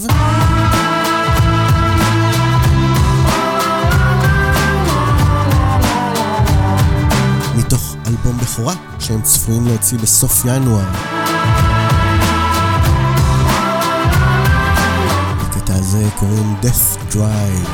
מתוך אלבום בכורה שהם צפויים להוציא בסוף ינואר. לקטע הזה קוראים Death Drive.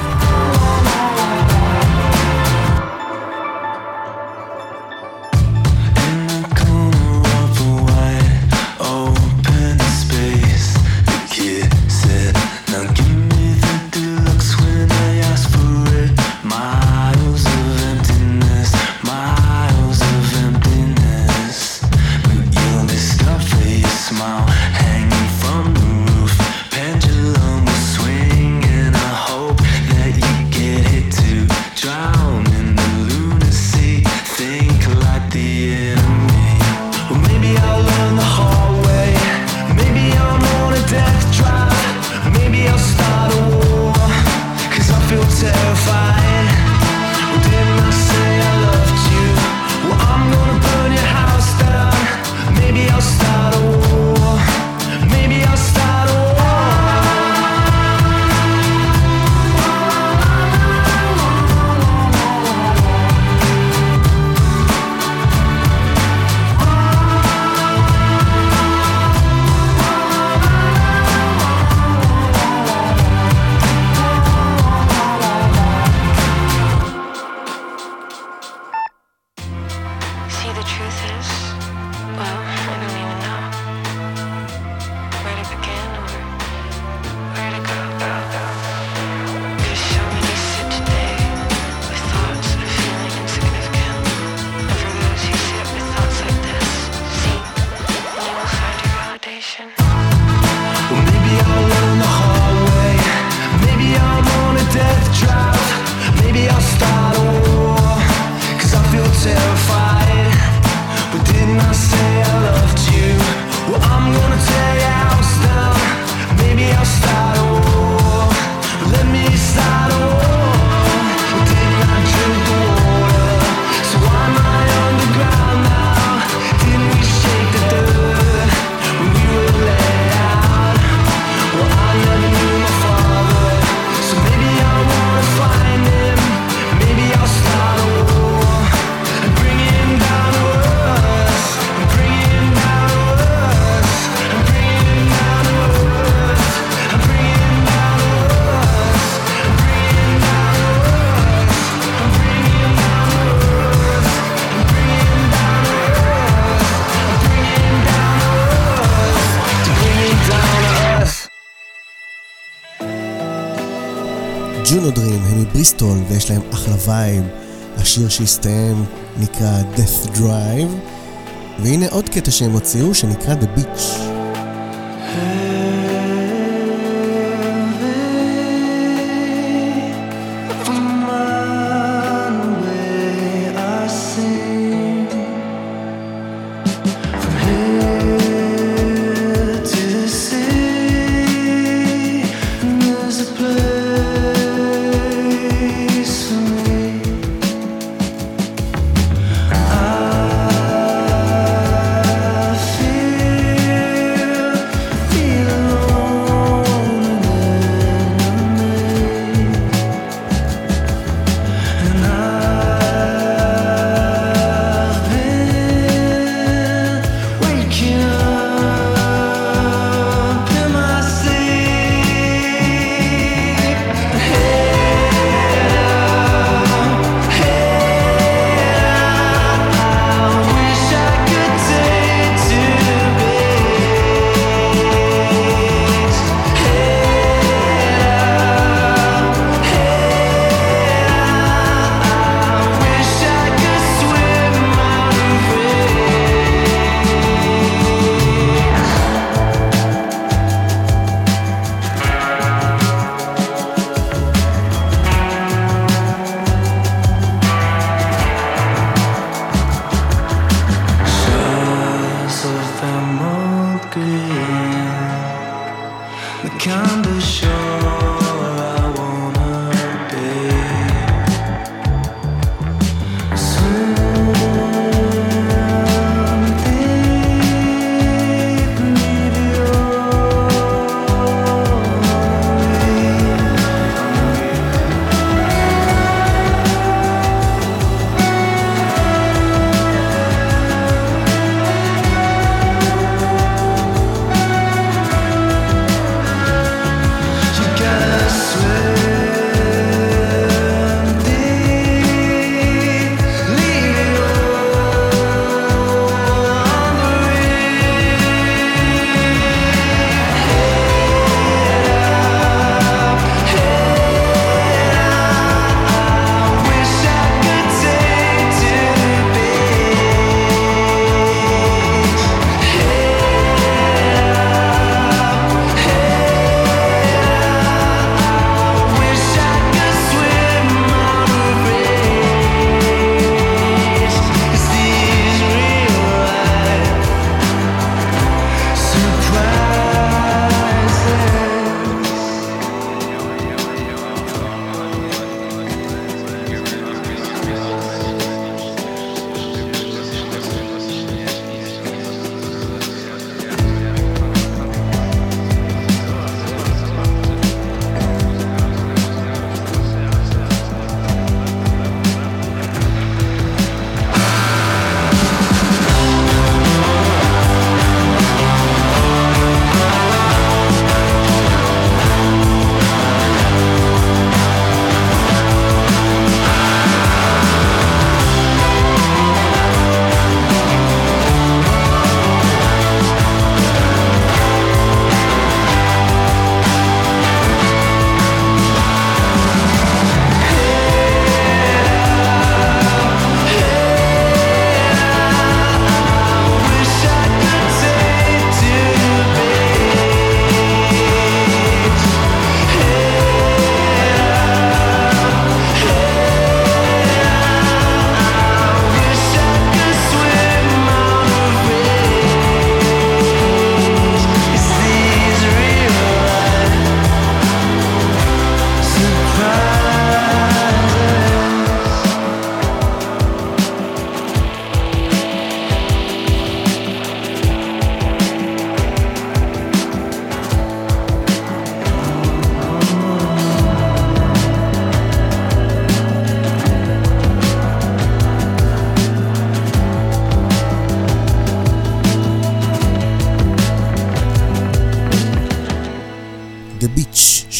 ג'ונו דרים הם מבריסטול ויש להם אחלה וייב. השיר שהסתיים נקרא Death Drive, והנה עוד קטע שהם הוציאו שנקרא The Beach. From one way I sing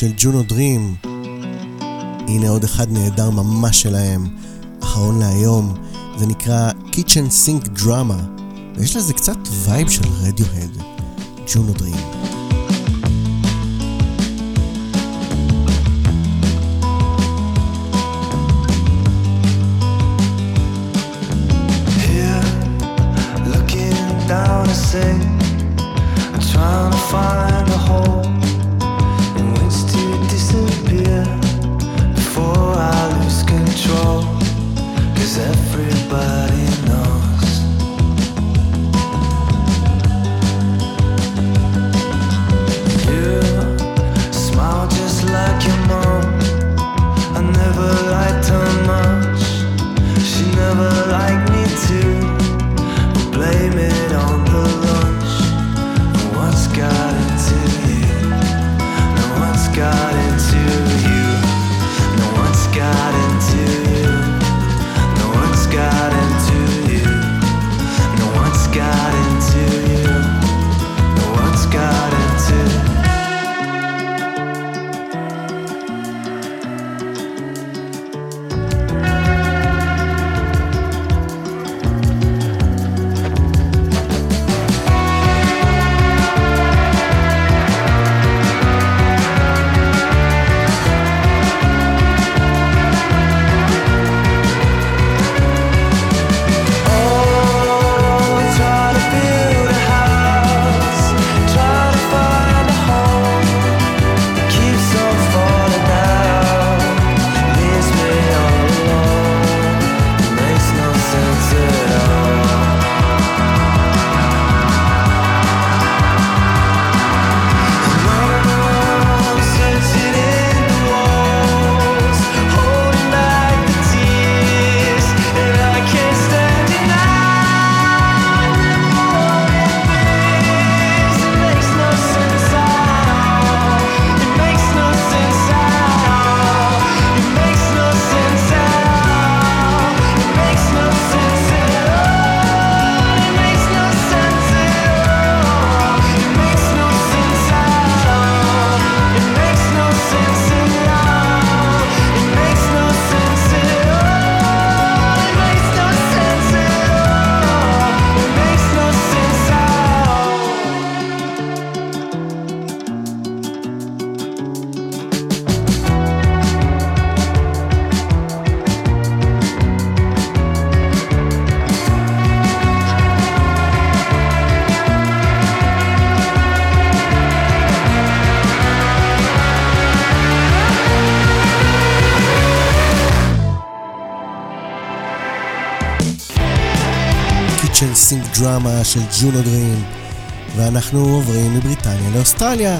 של ג'ונו דרים. הנה עוד אחד נהדר ממש שלהם, אחרון להיום, זה נקרא Kitchen Sink Drama, ויש לזה קצת וייב של רדיוהד. ג'ונו דרים. Down a sink, I'm trying to find a hole in which to disappear before I lose control, 'cause everybody knows you smile just like your mom. I never liked her much, she never liked me too. Blame it on the lunch. No one's got into you. No one's got into you. No one's got into you. No one's got into you. No one's got into you. No one's got into you. סינק דרמה של ג'ונו דרים, ואנחנו עוברים מבריטניה לאוסטרליה.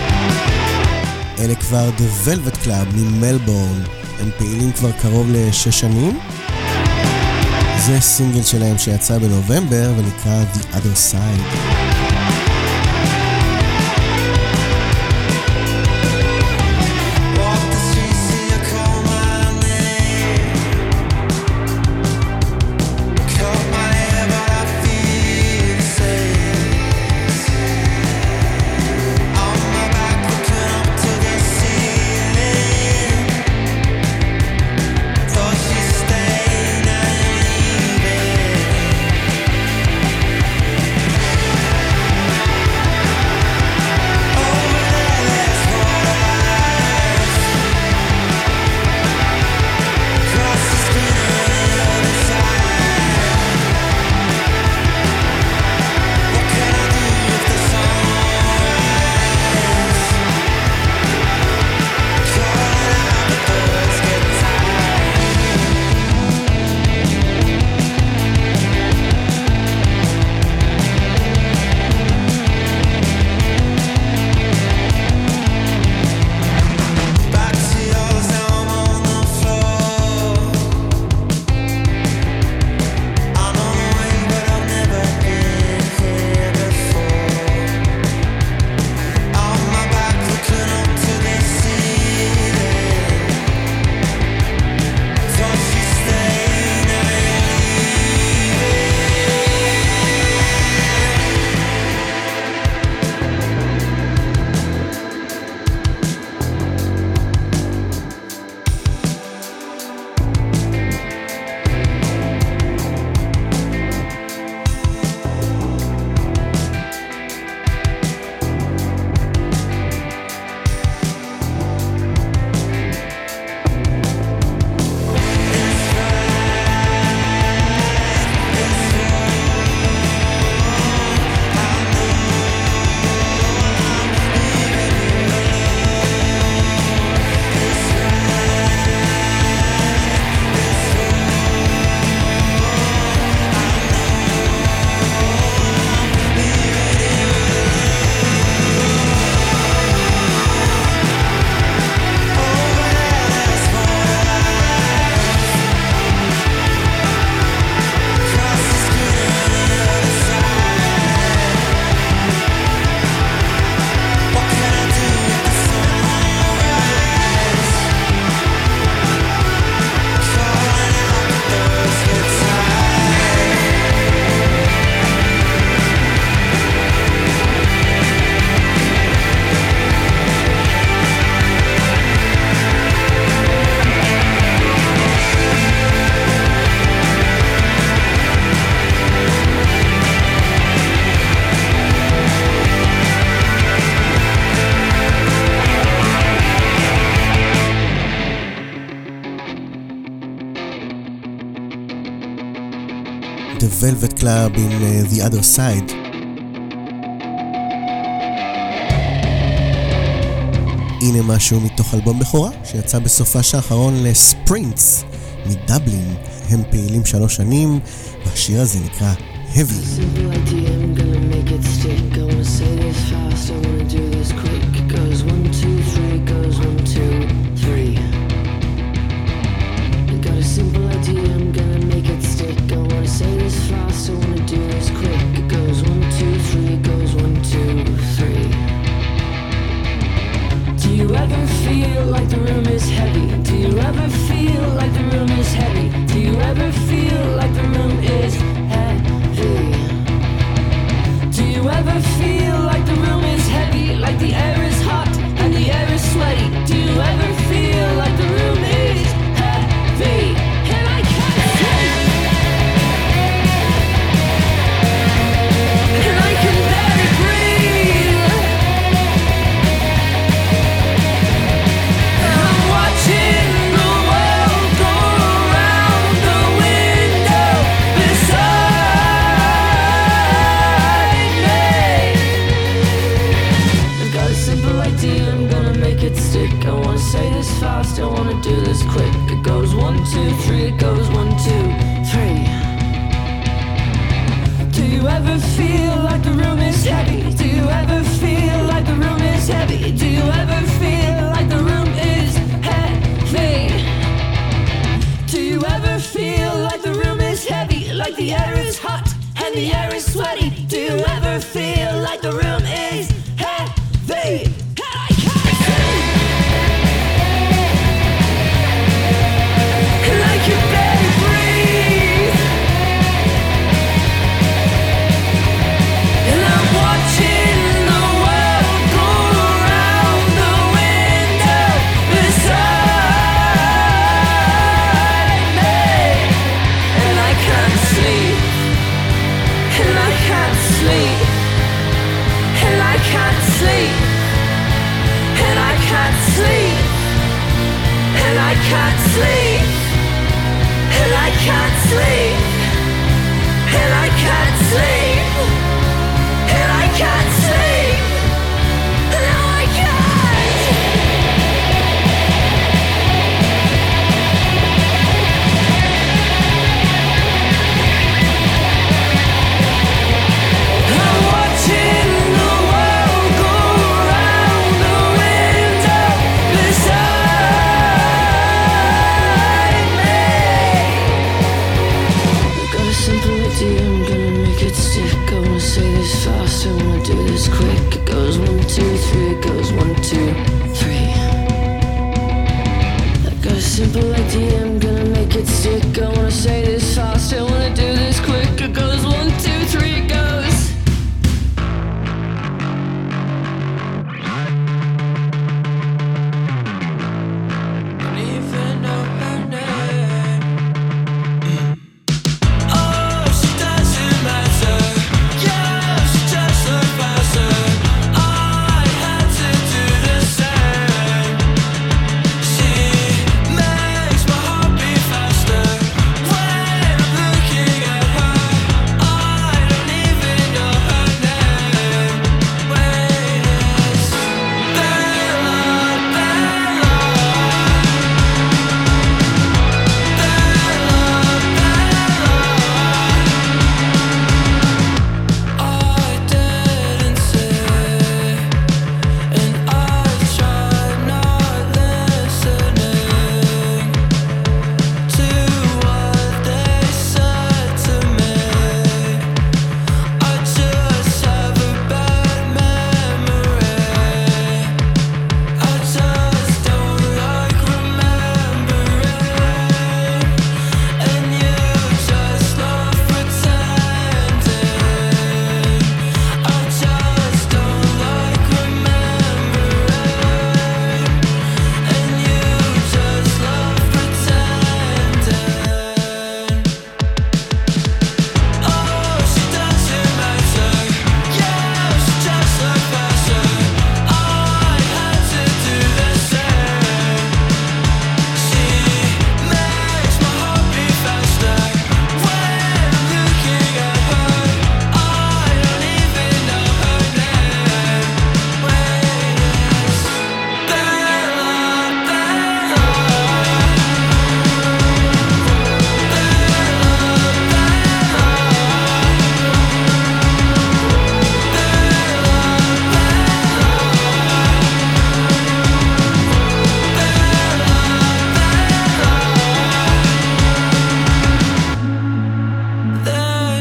אלה כבר The Velvet Club ממלבורן, הם פעילים כבר קרוב ל6 שנים. זה סינגל שלהם שיצא בנובמבר ונקרא The Other Side. Stay The Velvet Club עם The Other Side. הנה משהו מתוך אלבום בכורה שיצא בסופה האחרון לספרינטס מדבלין. הם פעילים 3 שנים והשיר הזה נקרא Heavy. Simple idea, I'm gonna make it stick. I wanna say this fast, I wanna do this quick. It goes 1, 2, 3, it goes 1, 2, 3. Do you ever feel like the room is heavy? Do you ever feel like the room is heavy? Do you ever feel like the room is heavy? Do you ever feel like the room is heavy? Like the air is hot and the air is sweaty? Do you ever feel like the room is heavy? And I can't sleep. And I can barely breathe. I'm watching the world go around the window beside me. I've got a simple idea, I'm gonna make it stick. I wanna say this fast, I wanna do this quick. It goes 1, 2, 3, it goes 1, 2, 3. Do you ever feel like the room is heavy? Do you ever feel like the room is heavy? Do you ever feel like the room is heavy? Do you ever feel like the room is heavy? Like the air is hot and the air is sweaty? Do you ever feel like the room is heavy? Oh, she doesn't matter. Yeah, she just look faster.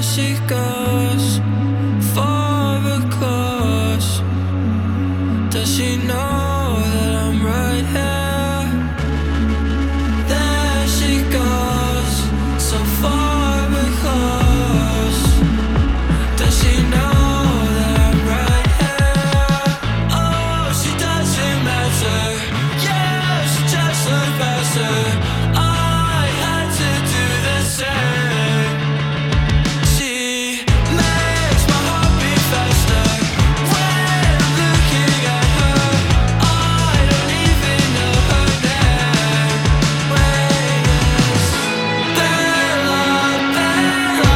she goes far across. Does she know that I'm right here? There she goes so far across. Does she know that I'm right here? Oh, she doesn't matter. Yeah, she just looked past her. I had to do the same. She makes my heart beat faster when I'm looking at her. I don't even know her name. Wait, Bella, Bella.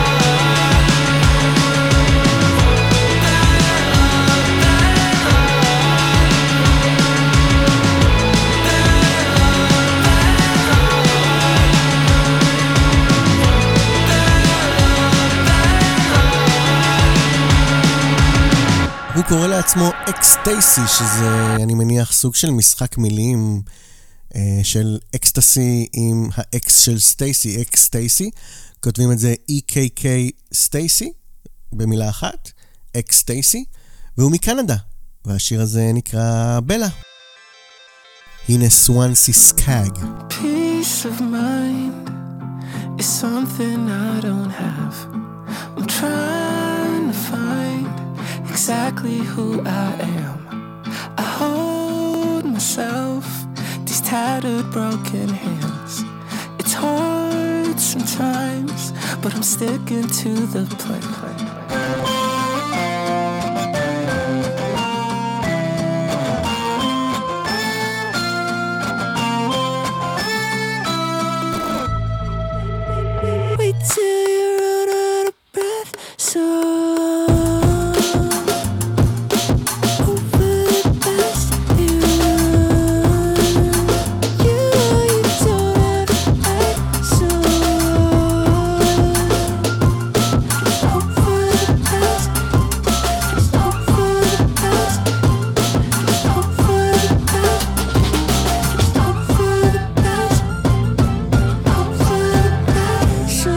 הוא קורא לעצמו אקסטייסי, שזה אני מניח סוג של משחק מילים של אקסטסי עם האקס של סטייסי, אקסטייסי. כותבים את זה EKK סטייסי במילה אחת, אקסטייסי, והוא מקנדה, והשיר הזה נקרא בלה. הנה סואנסי סקאג. Peace of mind is something I don't have. I'm trying to find exactly who I am. I hold myself, these tattered broken hands. It's hard sometimes, but I'm sticking to the plan. Wait till you run out of breath, so over the past you don't have to act so over the past, over the past, over the past, over the past, over the past, so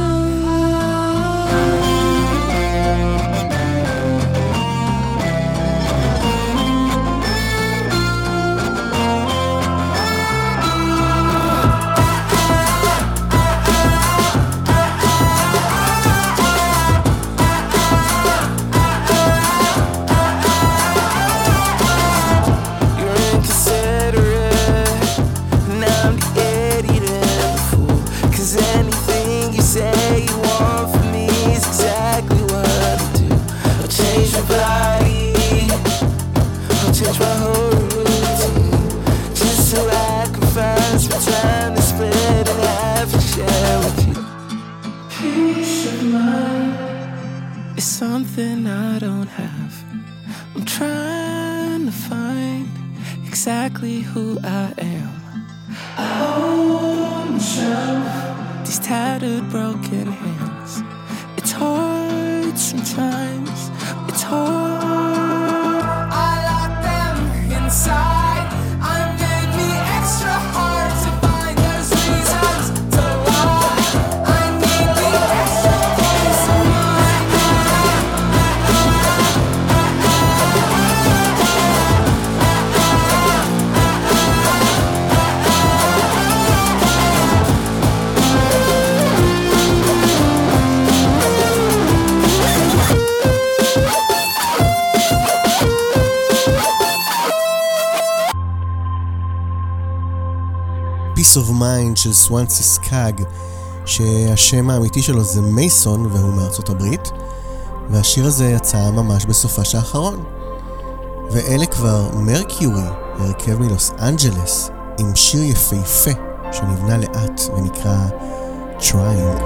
you're inconsiderate, now I'm the idiot and the fool. 'Cause anything you say you want from me is exactly what I'll do. I'll change my body, I'll change my whole routine, just so I can find some time to split in half and share with you. Peace of mind is something I don't have. I'm trying to find exactly who I am. I hold myself, these tattered broken hands. It's hard sometimes, it's hard. I lock them inside, I made me extra hard to find those reasons to lie. I need the extra peace of mind. Peace of Mind של סואנסי סקאג, שהשם האמיתי שלו זה מייסון והוא מארצות הברית, והשיר הזה יצא ממש בסופש האחרון. ואלה כבר מרקיורי, הרכב מלוס אנג'לס, עם שיר יפהפה שנבנה לאט ונקרא Trying.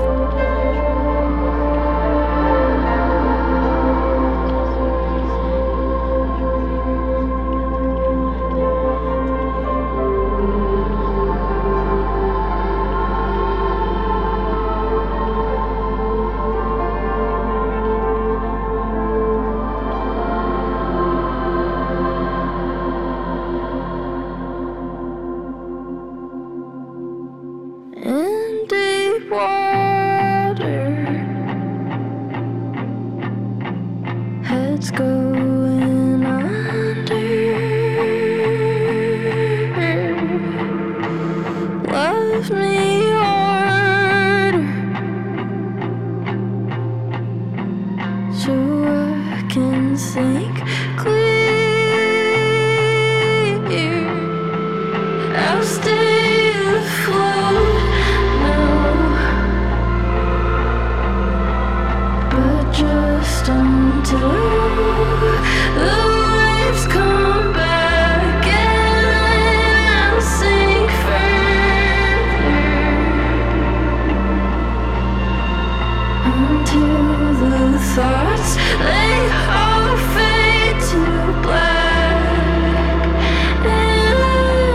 In deep water head's going under. Love me harder so I can think clear. I'll stay afloat now, but just until the waves come back and I'll sink further until the thoughts they all fade to black. And I'm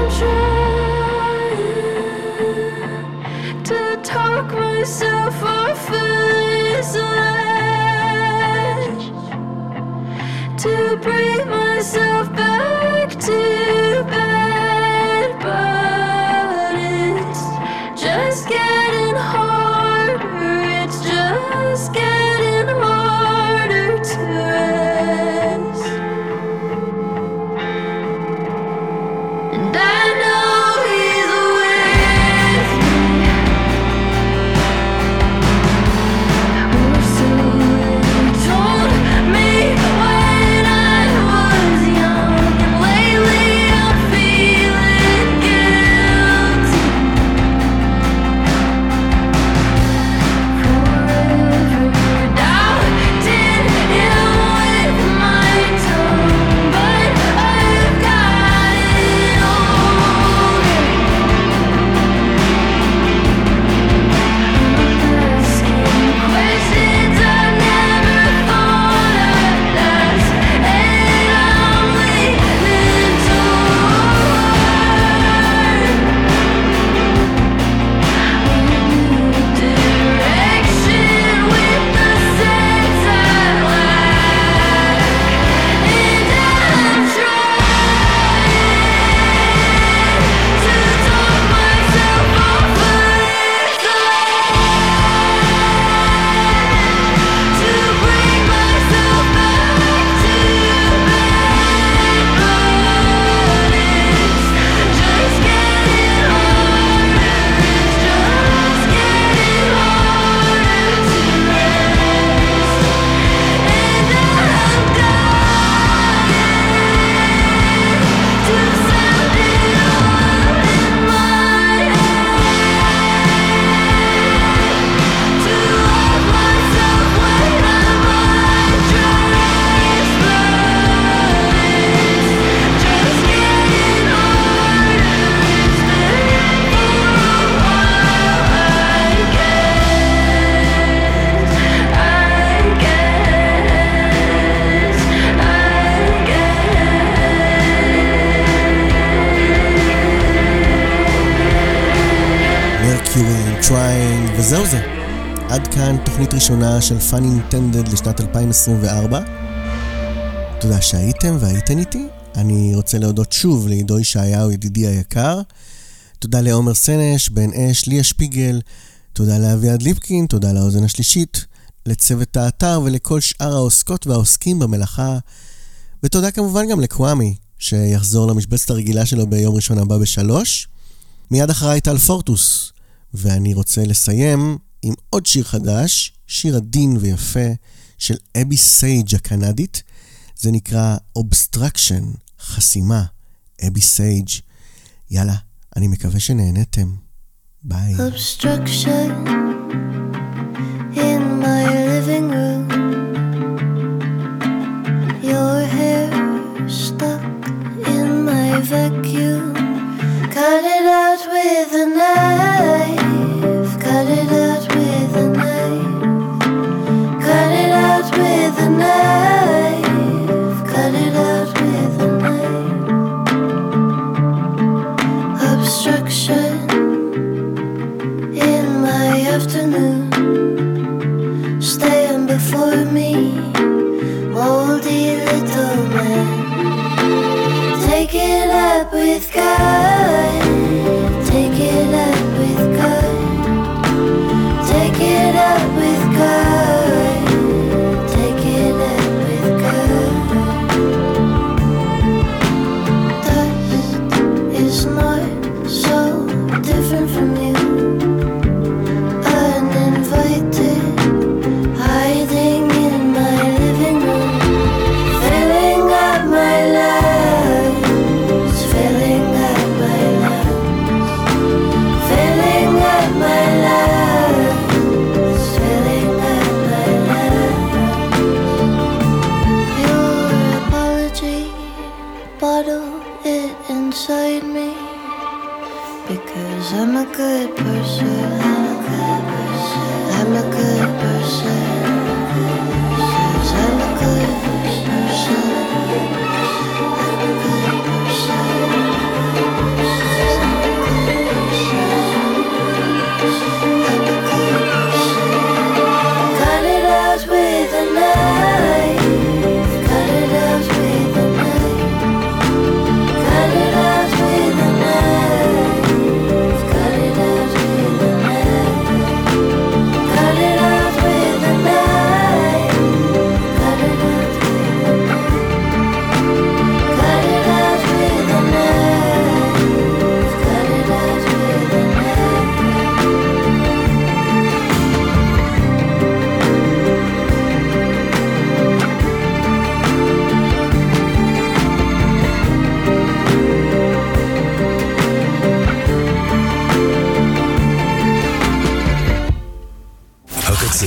trying to talk myself off this ledge, to bring myself back to bed, but it's just getting harder. It's just getting harder to rest. And I know he's with me. Or so they told me when I was young. And lately I'm feeling guilty. Forever doubting him with my tongue, but I've gotten older. Asking questions I never thought I'd ask, and I'm leaning toward direction with the sense I lack, and I'm trying to talk myself off of this ledge, to bring myself back to bed, but it's just getting harder. It's just getting harder to rest, and I'm dying to sound it all in my head, to love myself when I'm undressed, but it's just getting harder. It's been for a while, I guess. Mercury Trying, וזהו זה. עד כאן תוכנית ראשונה של Fun Intended לשנת 2024. תודה שהייתם והייתן איתי. אני רוצה להודות שוב לעידו ישעיהו ידידי היקר. תודה לעומר סנש, בן אש, ליה שפיגל. תודה לאביעד ליפקין, תודה לאוזן השלישית, לצוות האתר ולכל שאר העוסקות והעוסקים במלאכה. ותודה כמובן גם לקוואמי, שיחזור למשבצת הרגילה שלו ביום ראשון הבא ב3. מיד אחריי טל פורטוס, ואני רוצה לסיים עם עוד שיר חדש, שיר עדין ויפה של אבי סייג' הקנדית. זה נקרא Obstruction, חסימה, אבי סייג'. יאללה, אני מקווה שנהנתם. ביי. Obstruction in my living room. Your hair stuck in my vacuum. Cut it out with a knife. Cut it out with a knife. Cut it out with a knife. Cut it out with a knife. Obstruction in my afternoon. Stand before me, moldy little man. Take it up with God. Take it up with God. Take it up with God. Take it up with God.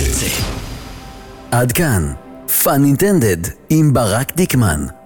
עד כאן, Fun Intended עם ברק דיקמן.